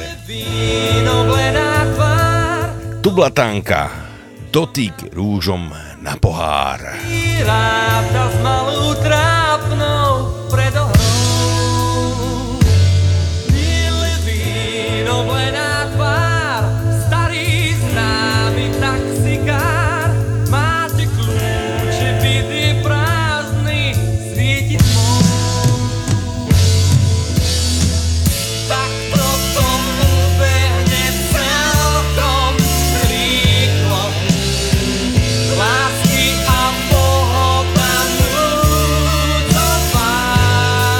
Tublatánka, dotyk rúžom na pohár. Rábta s malou trápnou predohrou. Biele víno, bledá tvár, starý známy taxikár. Máte kľúče, byt je prázdny, svieti tmou. Tak to tomu behne celkom rýchlo. Lásky a pohoda núdzová.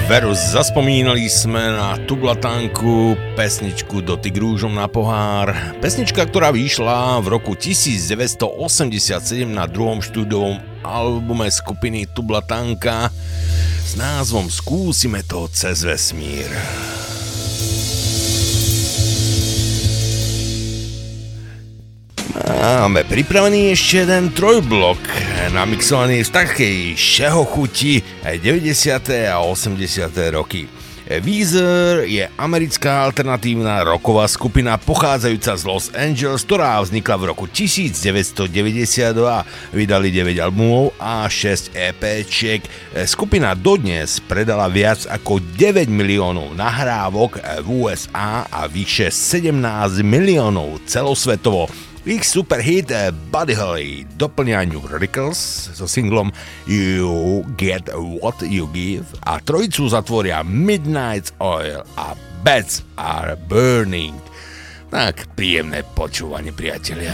Verus, zaspomínali sme na Tublatanku, pesničku Dotyk rúžom na pohár. Pesnička, ktorá vyšla v roku devätnásťstoosemdesiatsedem na druhom štúdiovom albume skupiny Tublatanka s názvom Skúsime to cez vesmír. Máme pripravený ešte jeden trojblok, namixovaný v takej šehochuti aj deväťdesiate a osemdesiate roky. Weezer je americká alternatívna rocková skupina pochádzajúca z Los Angeles, ktorá vznikla v roku devätnásťstodeväťdesiatdva. Vydali deväť albumov a šesť EPčiek. Skupina dodnes predala viac ako deväť miliónov nahrávok v ú es á a vyše sedemnásť miliónov celosvetovo. Ich superhit Buddy Holly doplňa New Radicals so singlom You Get What You Give a trojicu zatvoria Midnight Oil a Beds Are Burning. Tak príjemné počúvanie, priatelia.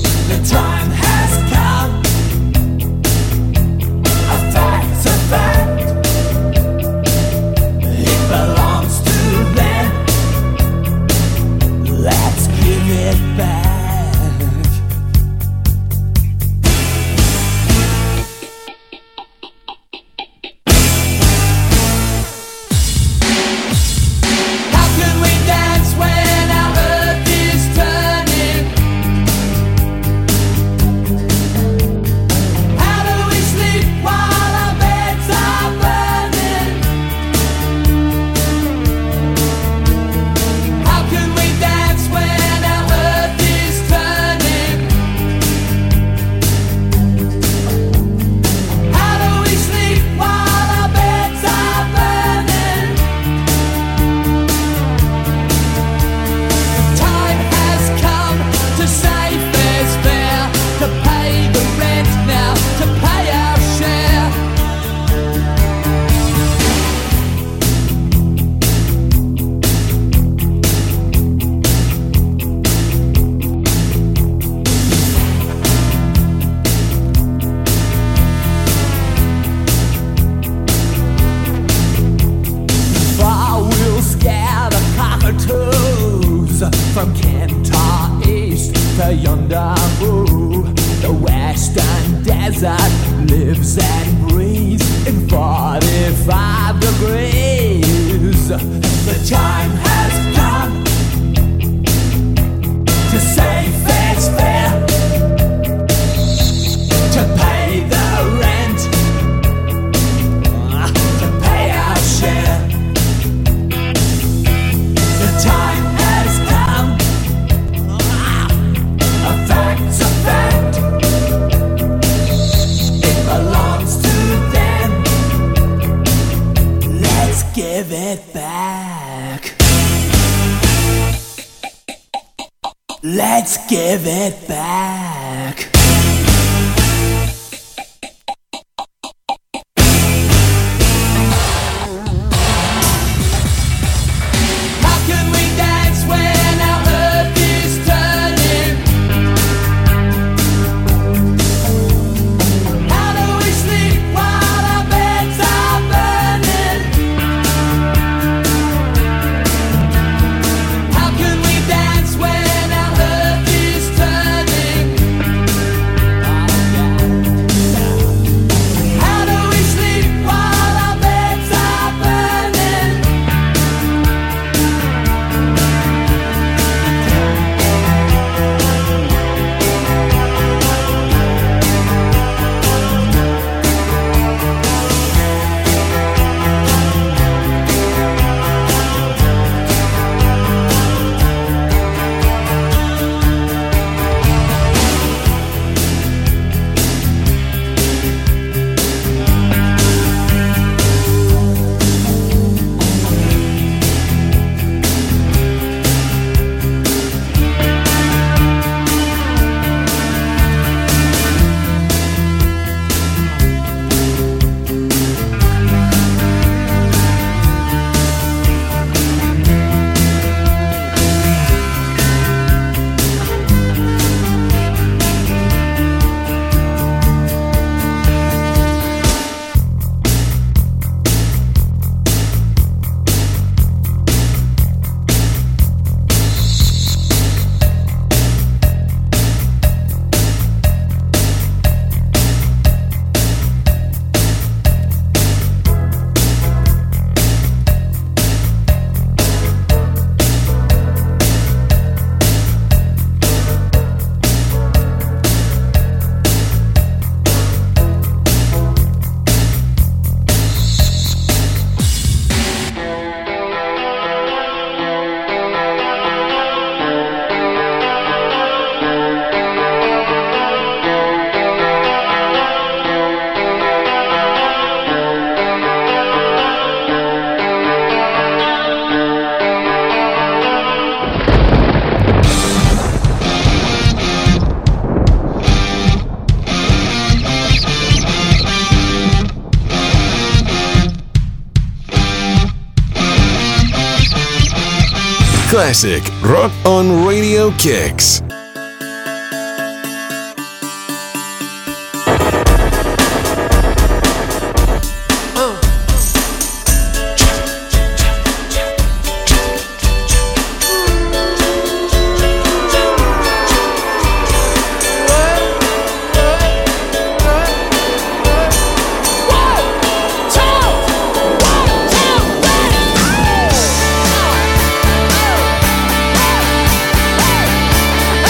Back. from Kentar East to yonder Boo. The western desert lives and breathes in forty-five degrees. The time has come to say fair's fair, to pay the rent, to pay our share. The time has come, a fact's a fact. It belongs to them. Let's give it back. Let's give it back. How can we dance when our earth is turning? How do we sleep while our beds are burning? How can we dance when our earth is turning? How do we sleep while our beds are burning? Classic Rock on Radio Kicks. Hey!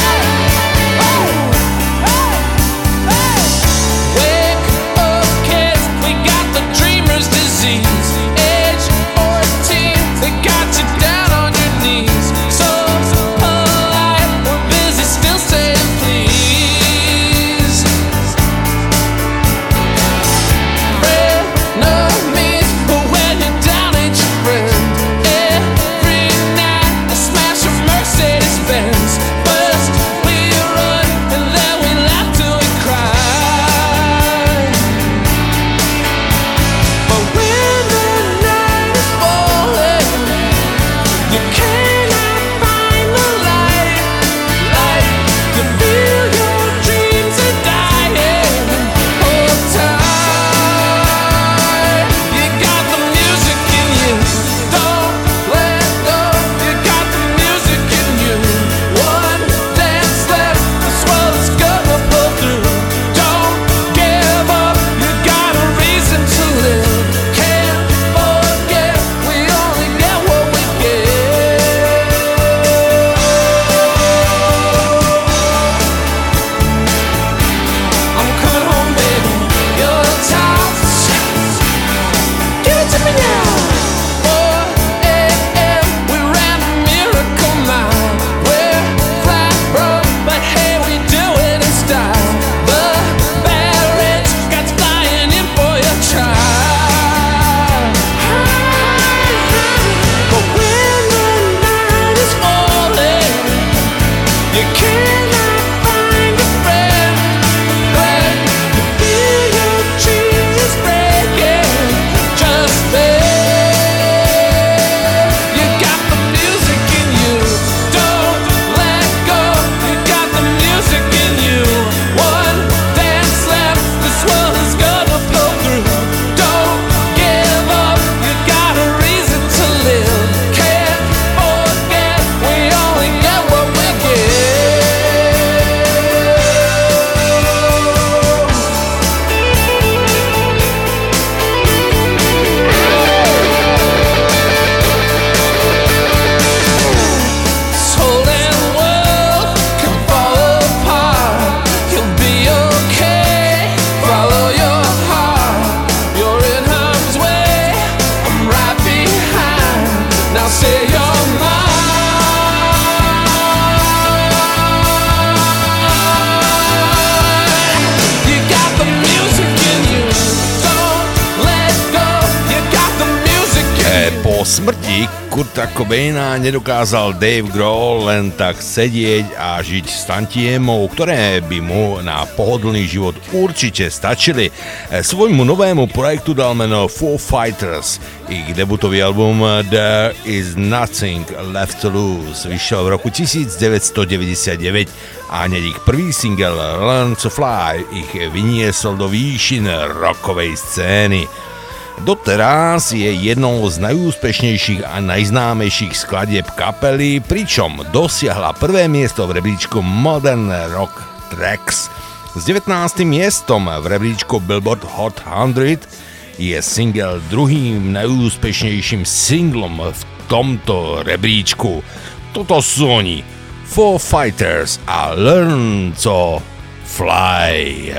príbehy Kurta Cobaina nedokázal Dave Grohl len tak sedieť a žiť s tantiemou, ktoré by mu na pohodlný život určite stačili. Svojmu novému projektu dal meno Foo Fighters. Ich debutový album There Is Nothing Left to Lose vyšiel v roku devätnásťstodeväťdesiatdeväť a hneď ich prvý single Learn to Fly ich vyniesol do výšin rockovej scény. Doteraz je jednou z najúspešnejších a najznámejších skladieb kapely, pričom dosiahla prvé miesto v rebríčku Modern Rock Tracks. S devätnástym miestom v rebríčku Billboard Hot sto je single druhým najúspešnejším singlom v tomto rebríčku. Toto sú oni, Foo Fighters a Learn to Fly.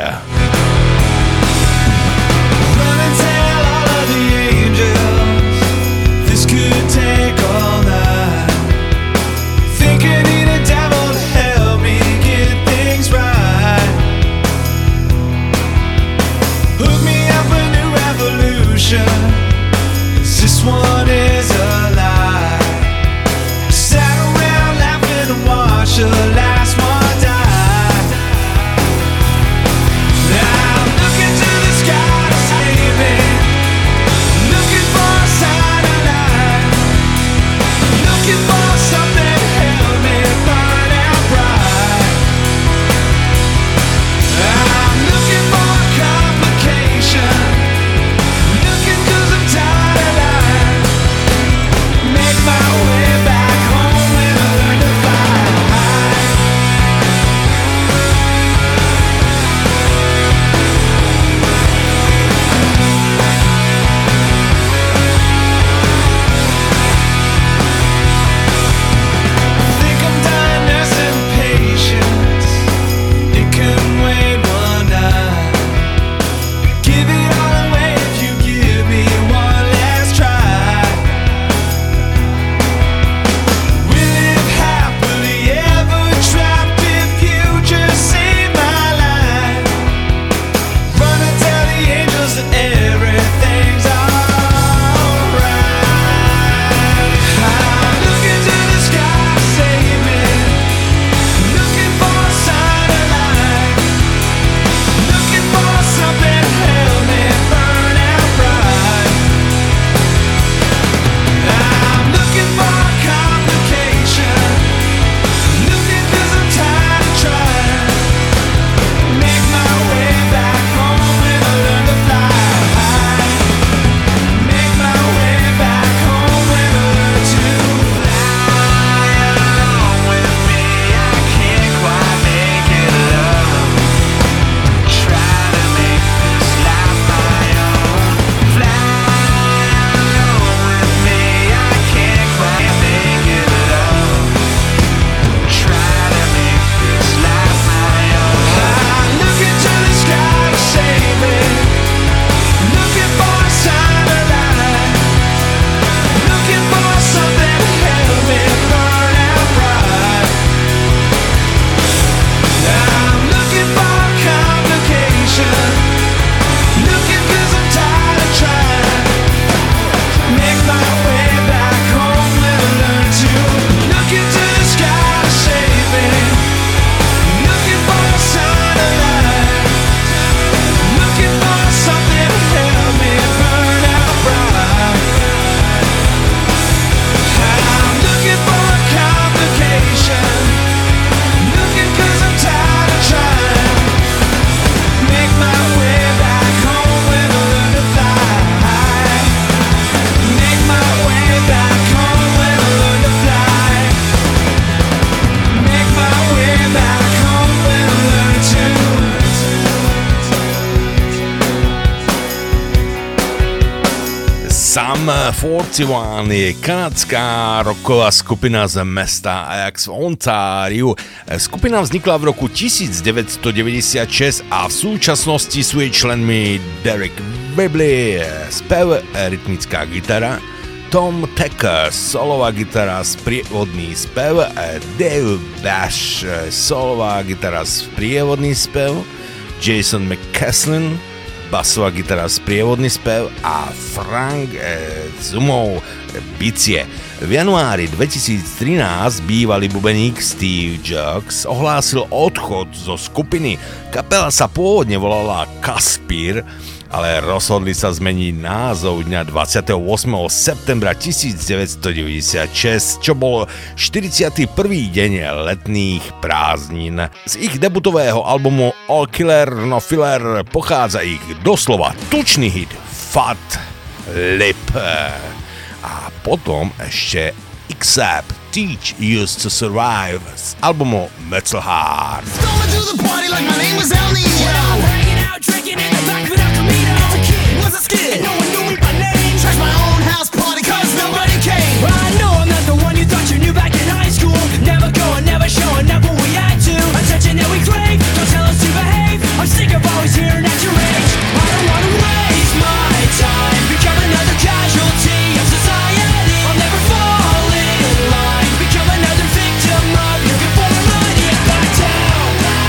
This one is a lie. Sat around laughing and watched the last one die. I'm looking to the sky to save me, looking for a sign of life, looking for something to help me burn out bright. I'm looking for a complication. štyridsaťjeden je kanadská rocková skupina z mesta Ajax v Ontáriu. Skupina vznikla v roku devätnásťstodeväťdesiatšesť a v súčasnosti sú jej členmi Derek Whibley, spev, rytmická gitara, Tom Tucker, solová gitara, sprievodný spev, Dave Bash, solová gitara, sprievodný spev, Jason McCaslin, basová gitara, sprievodný spev a Frank eh, Zumov bicie. V januári dvetisíctrinásť bývalý bubeník Steve Jocks ohlásil odchod zo skupiny. Kapela sa pôvodne volala Kaspir, ale rozhodli sa zmeniť názov dňa dvadsiateho ôsmeho septembra tisícdeväťstodeväťdesiatšesť, čo bol štyridsiaty prvý deň letných prázdnin. Z ich debutového albumu All Killer No Filler pochádza ich doslova tučný hit Fat Lip. A potom ešte X-Ap Teach Used to Survive z albumu Metal Heart. Going to the party like my name was El Nino. Hanging out, drinking in the back of El Camino. As a kid, was a skid, and no one knew me by name. Trashed my own house party cause nobody came. I know I'm not the one you thought you knew back in high school. Never going, never showing up when we had to. Attention that we crave, don't tell us to behave. I'm sick of always hearing at your age. I don't wanna waste my time, become another casualty of society. I'll never fall in line, become another victim of your conformity. Back down.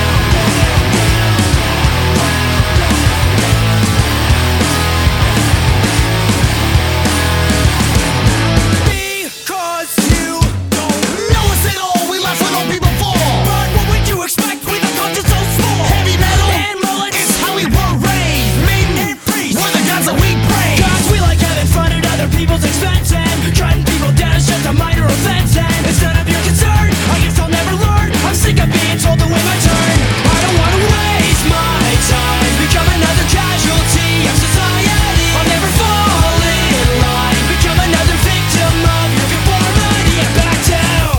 Because you don't know us at all, we laugh when old people fall. But what would you expect with a culture so small? Heavy metal and mullets is how we were raised. Maiden and priest were the gods that we praise. Cause we like having fun at other people's expense, and cutting people down is just a minor offense, and it's none of your concern. I guess I'll never learn. I'm sick of being told to wait my turn. I don't wanna waste my time, become another casualty of society. I'll never fall in line, become another victim of your conformity. And back down.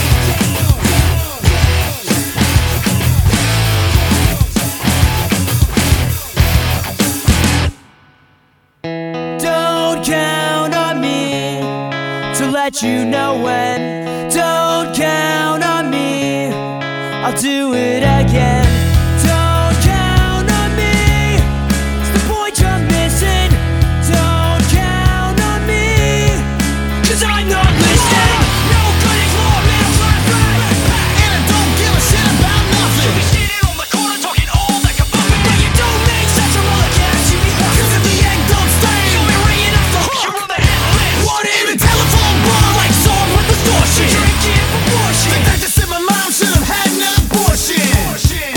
Don't count on me to let you know when. Don't count on me, I'll do it again. Don't count on me, it's the point you're missing. Don't count on me, cause I'm not listening. No cutting floor, middle class rap, and I don't give a shit about nothing. You be sitting on the corner talking all that kabuffin', but you don't make sense from all the gas you be huffing. Cause if the egg don't stay, you'll be ringing off the hook. You're on the hit list. Want it in a telephone bar like song with distortion. Drinking proportion. Think that just said my mom should have had an abortion.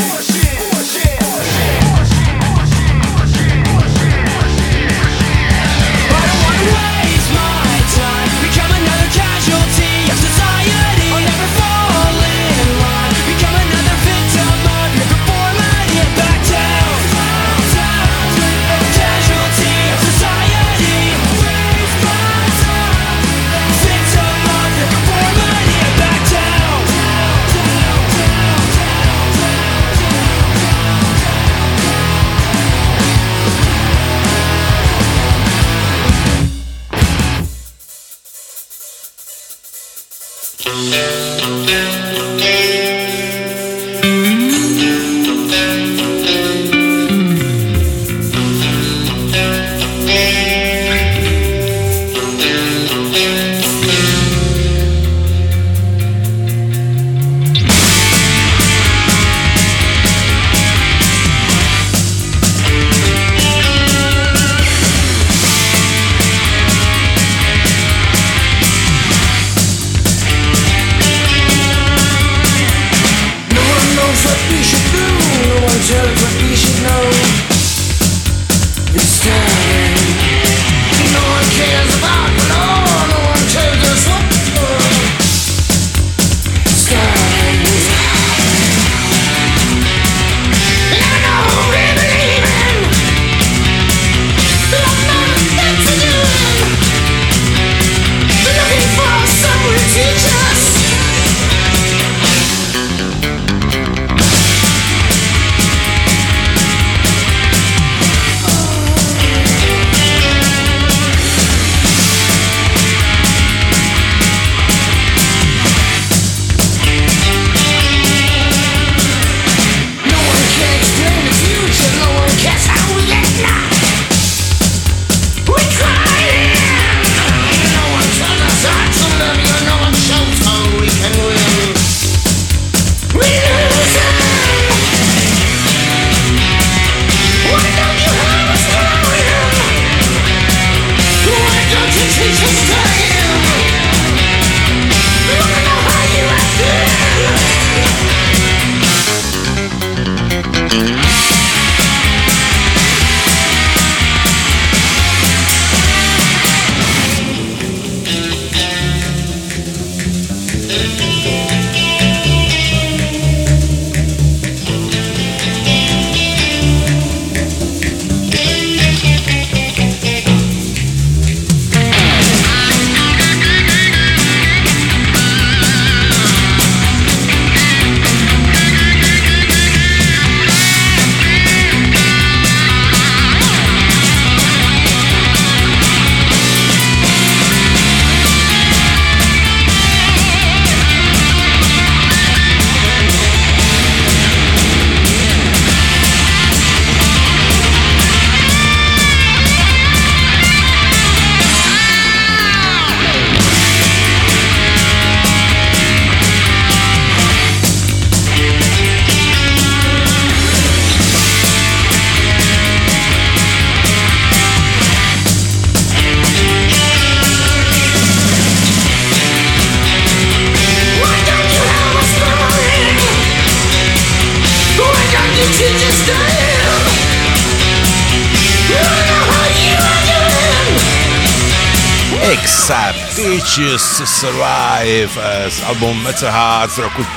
sa Teachers Survive z albumu Metal Heart z roku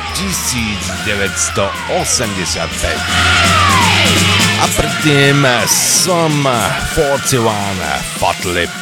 devätnásťstoosemdesiatpäť. A predtým som štyridsaťjeden Fat Lip.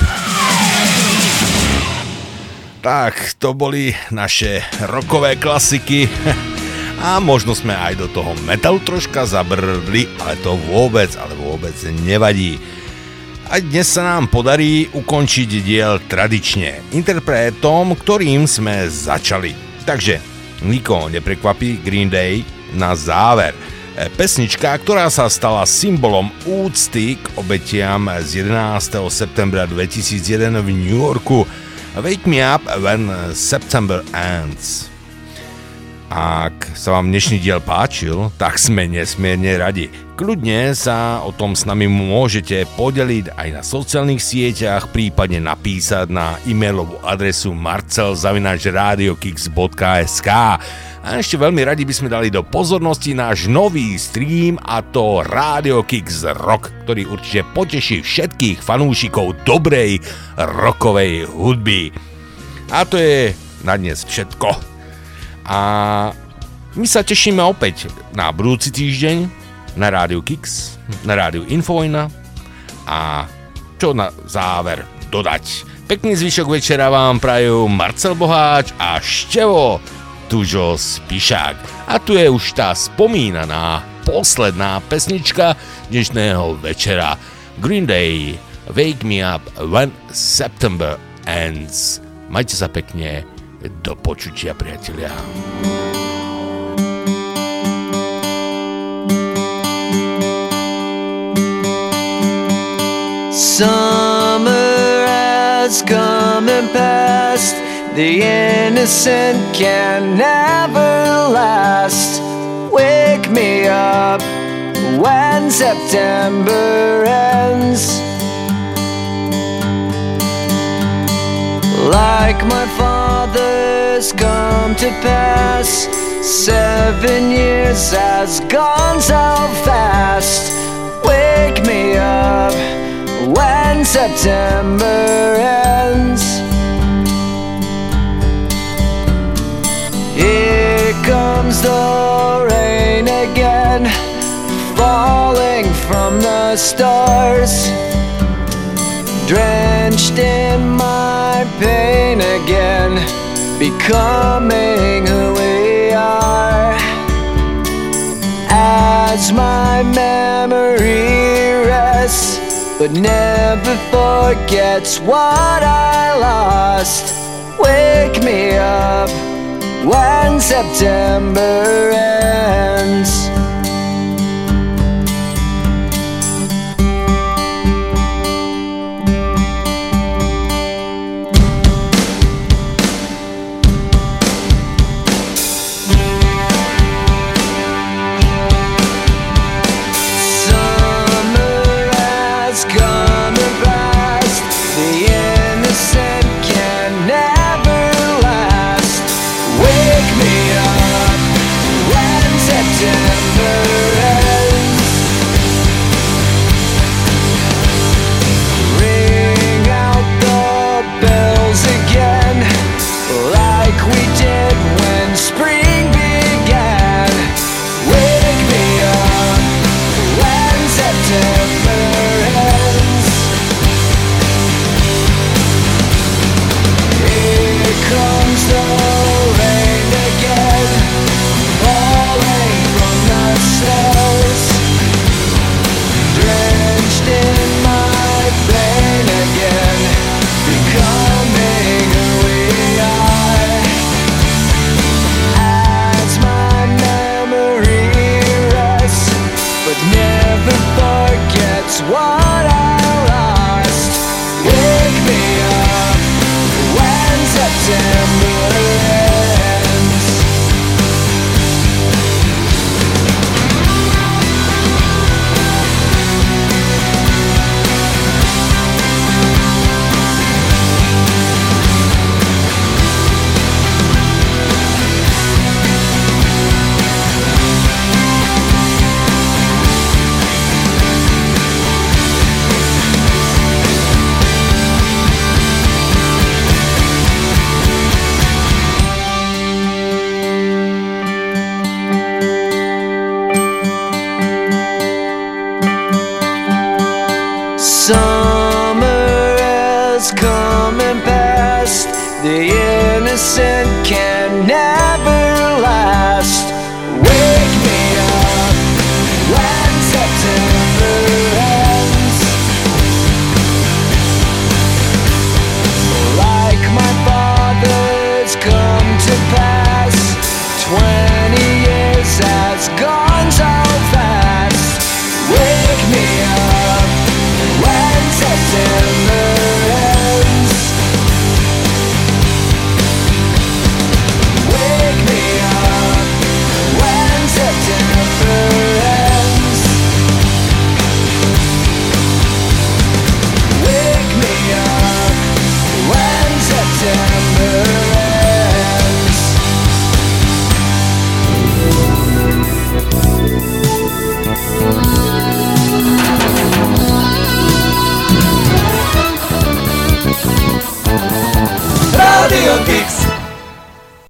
Tak, to boli naše rockové klasiky a možno sme aj do toho metalu troška zabrdli, ale to vôbec, ale vôbec nevadí. A dnes sa nám podarí ukončiť diel tradične, interpretom, ktorým sme začali. Takže, nikoho neprekvapí Green Day na záver. Pesnička, ktorá sa stala symbolom úcty k obetiam z jedenásteho septembra dvetisícjeden v New Yorku. Wake Me Up When September Ends. Ak sa vám dnešný diel páčil, tak sme nesmierne radi. Kľudne sa o tom s nami môžete podeliť aj na sociálnych sieťach, prípadne napísať na e-mailovú adresu marcel zavináč radiokix bodka es ká. A ešte veľmi radi by sme dali do pozornosti náš nový stream, a to Radio Kix Rock, ktorý určite poteší všetkých fanúšikov dobrej rockovej hudby. A to je na dnes všetko. A my sa tešíme opäť na budúci týždeň na Rádiu Kix, na Rádiu Infovojna a čo na záver dodať. Pekný zvyšok večera vám prajú Marcel Boháč a Števo Tužo Spišák. A tu je už tá spomínaná posledná pesnička dnešného večera. Green Day, Wake Me Up When September Ends. Majte sa pekne. Do počutia, priatelia. Summer has come and passed. The innocent can never last. Wake me up when September ends. Like my father's come to pass, seven years has gone so fast. Wake me up when September ends. Here comes the rain again, falling from the stars, drenched in my pain again, becoming who we are. As my memory rests, but never forgets what I lost. Wake me up when September ends. The innocent can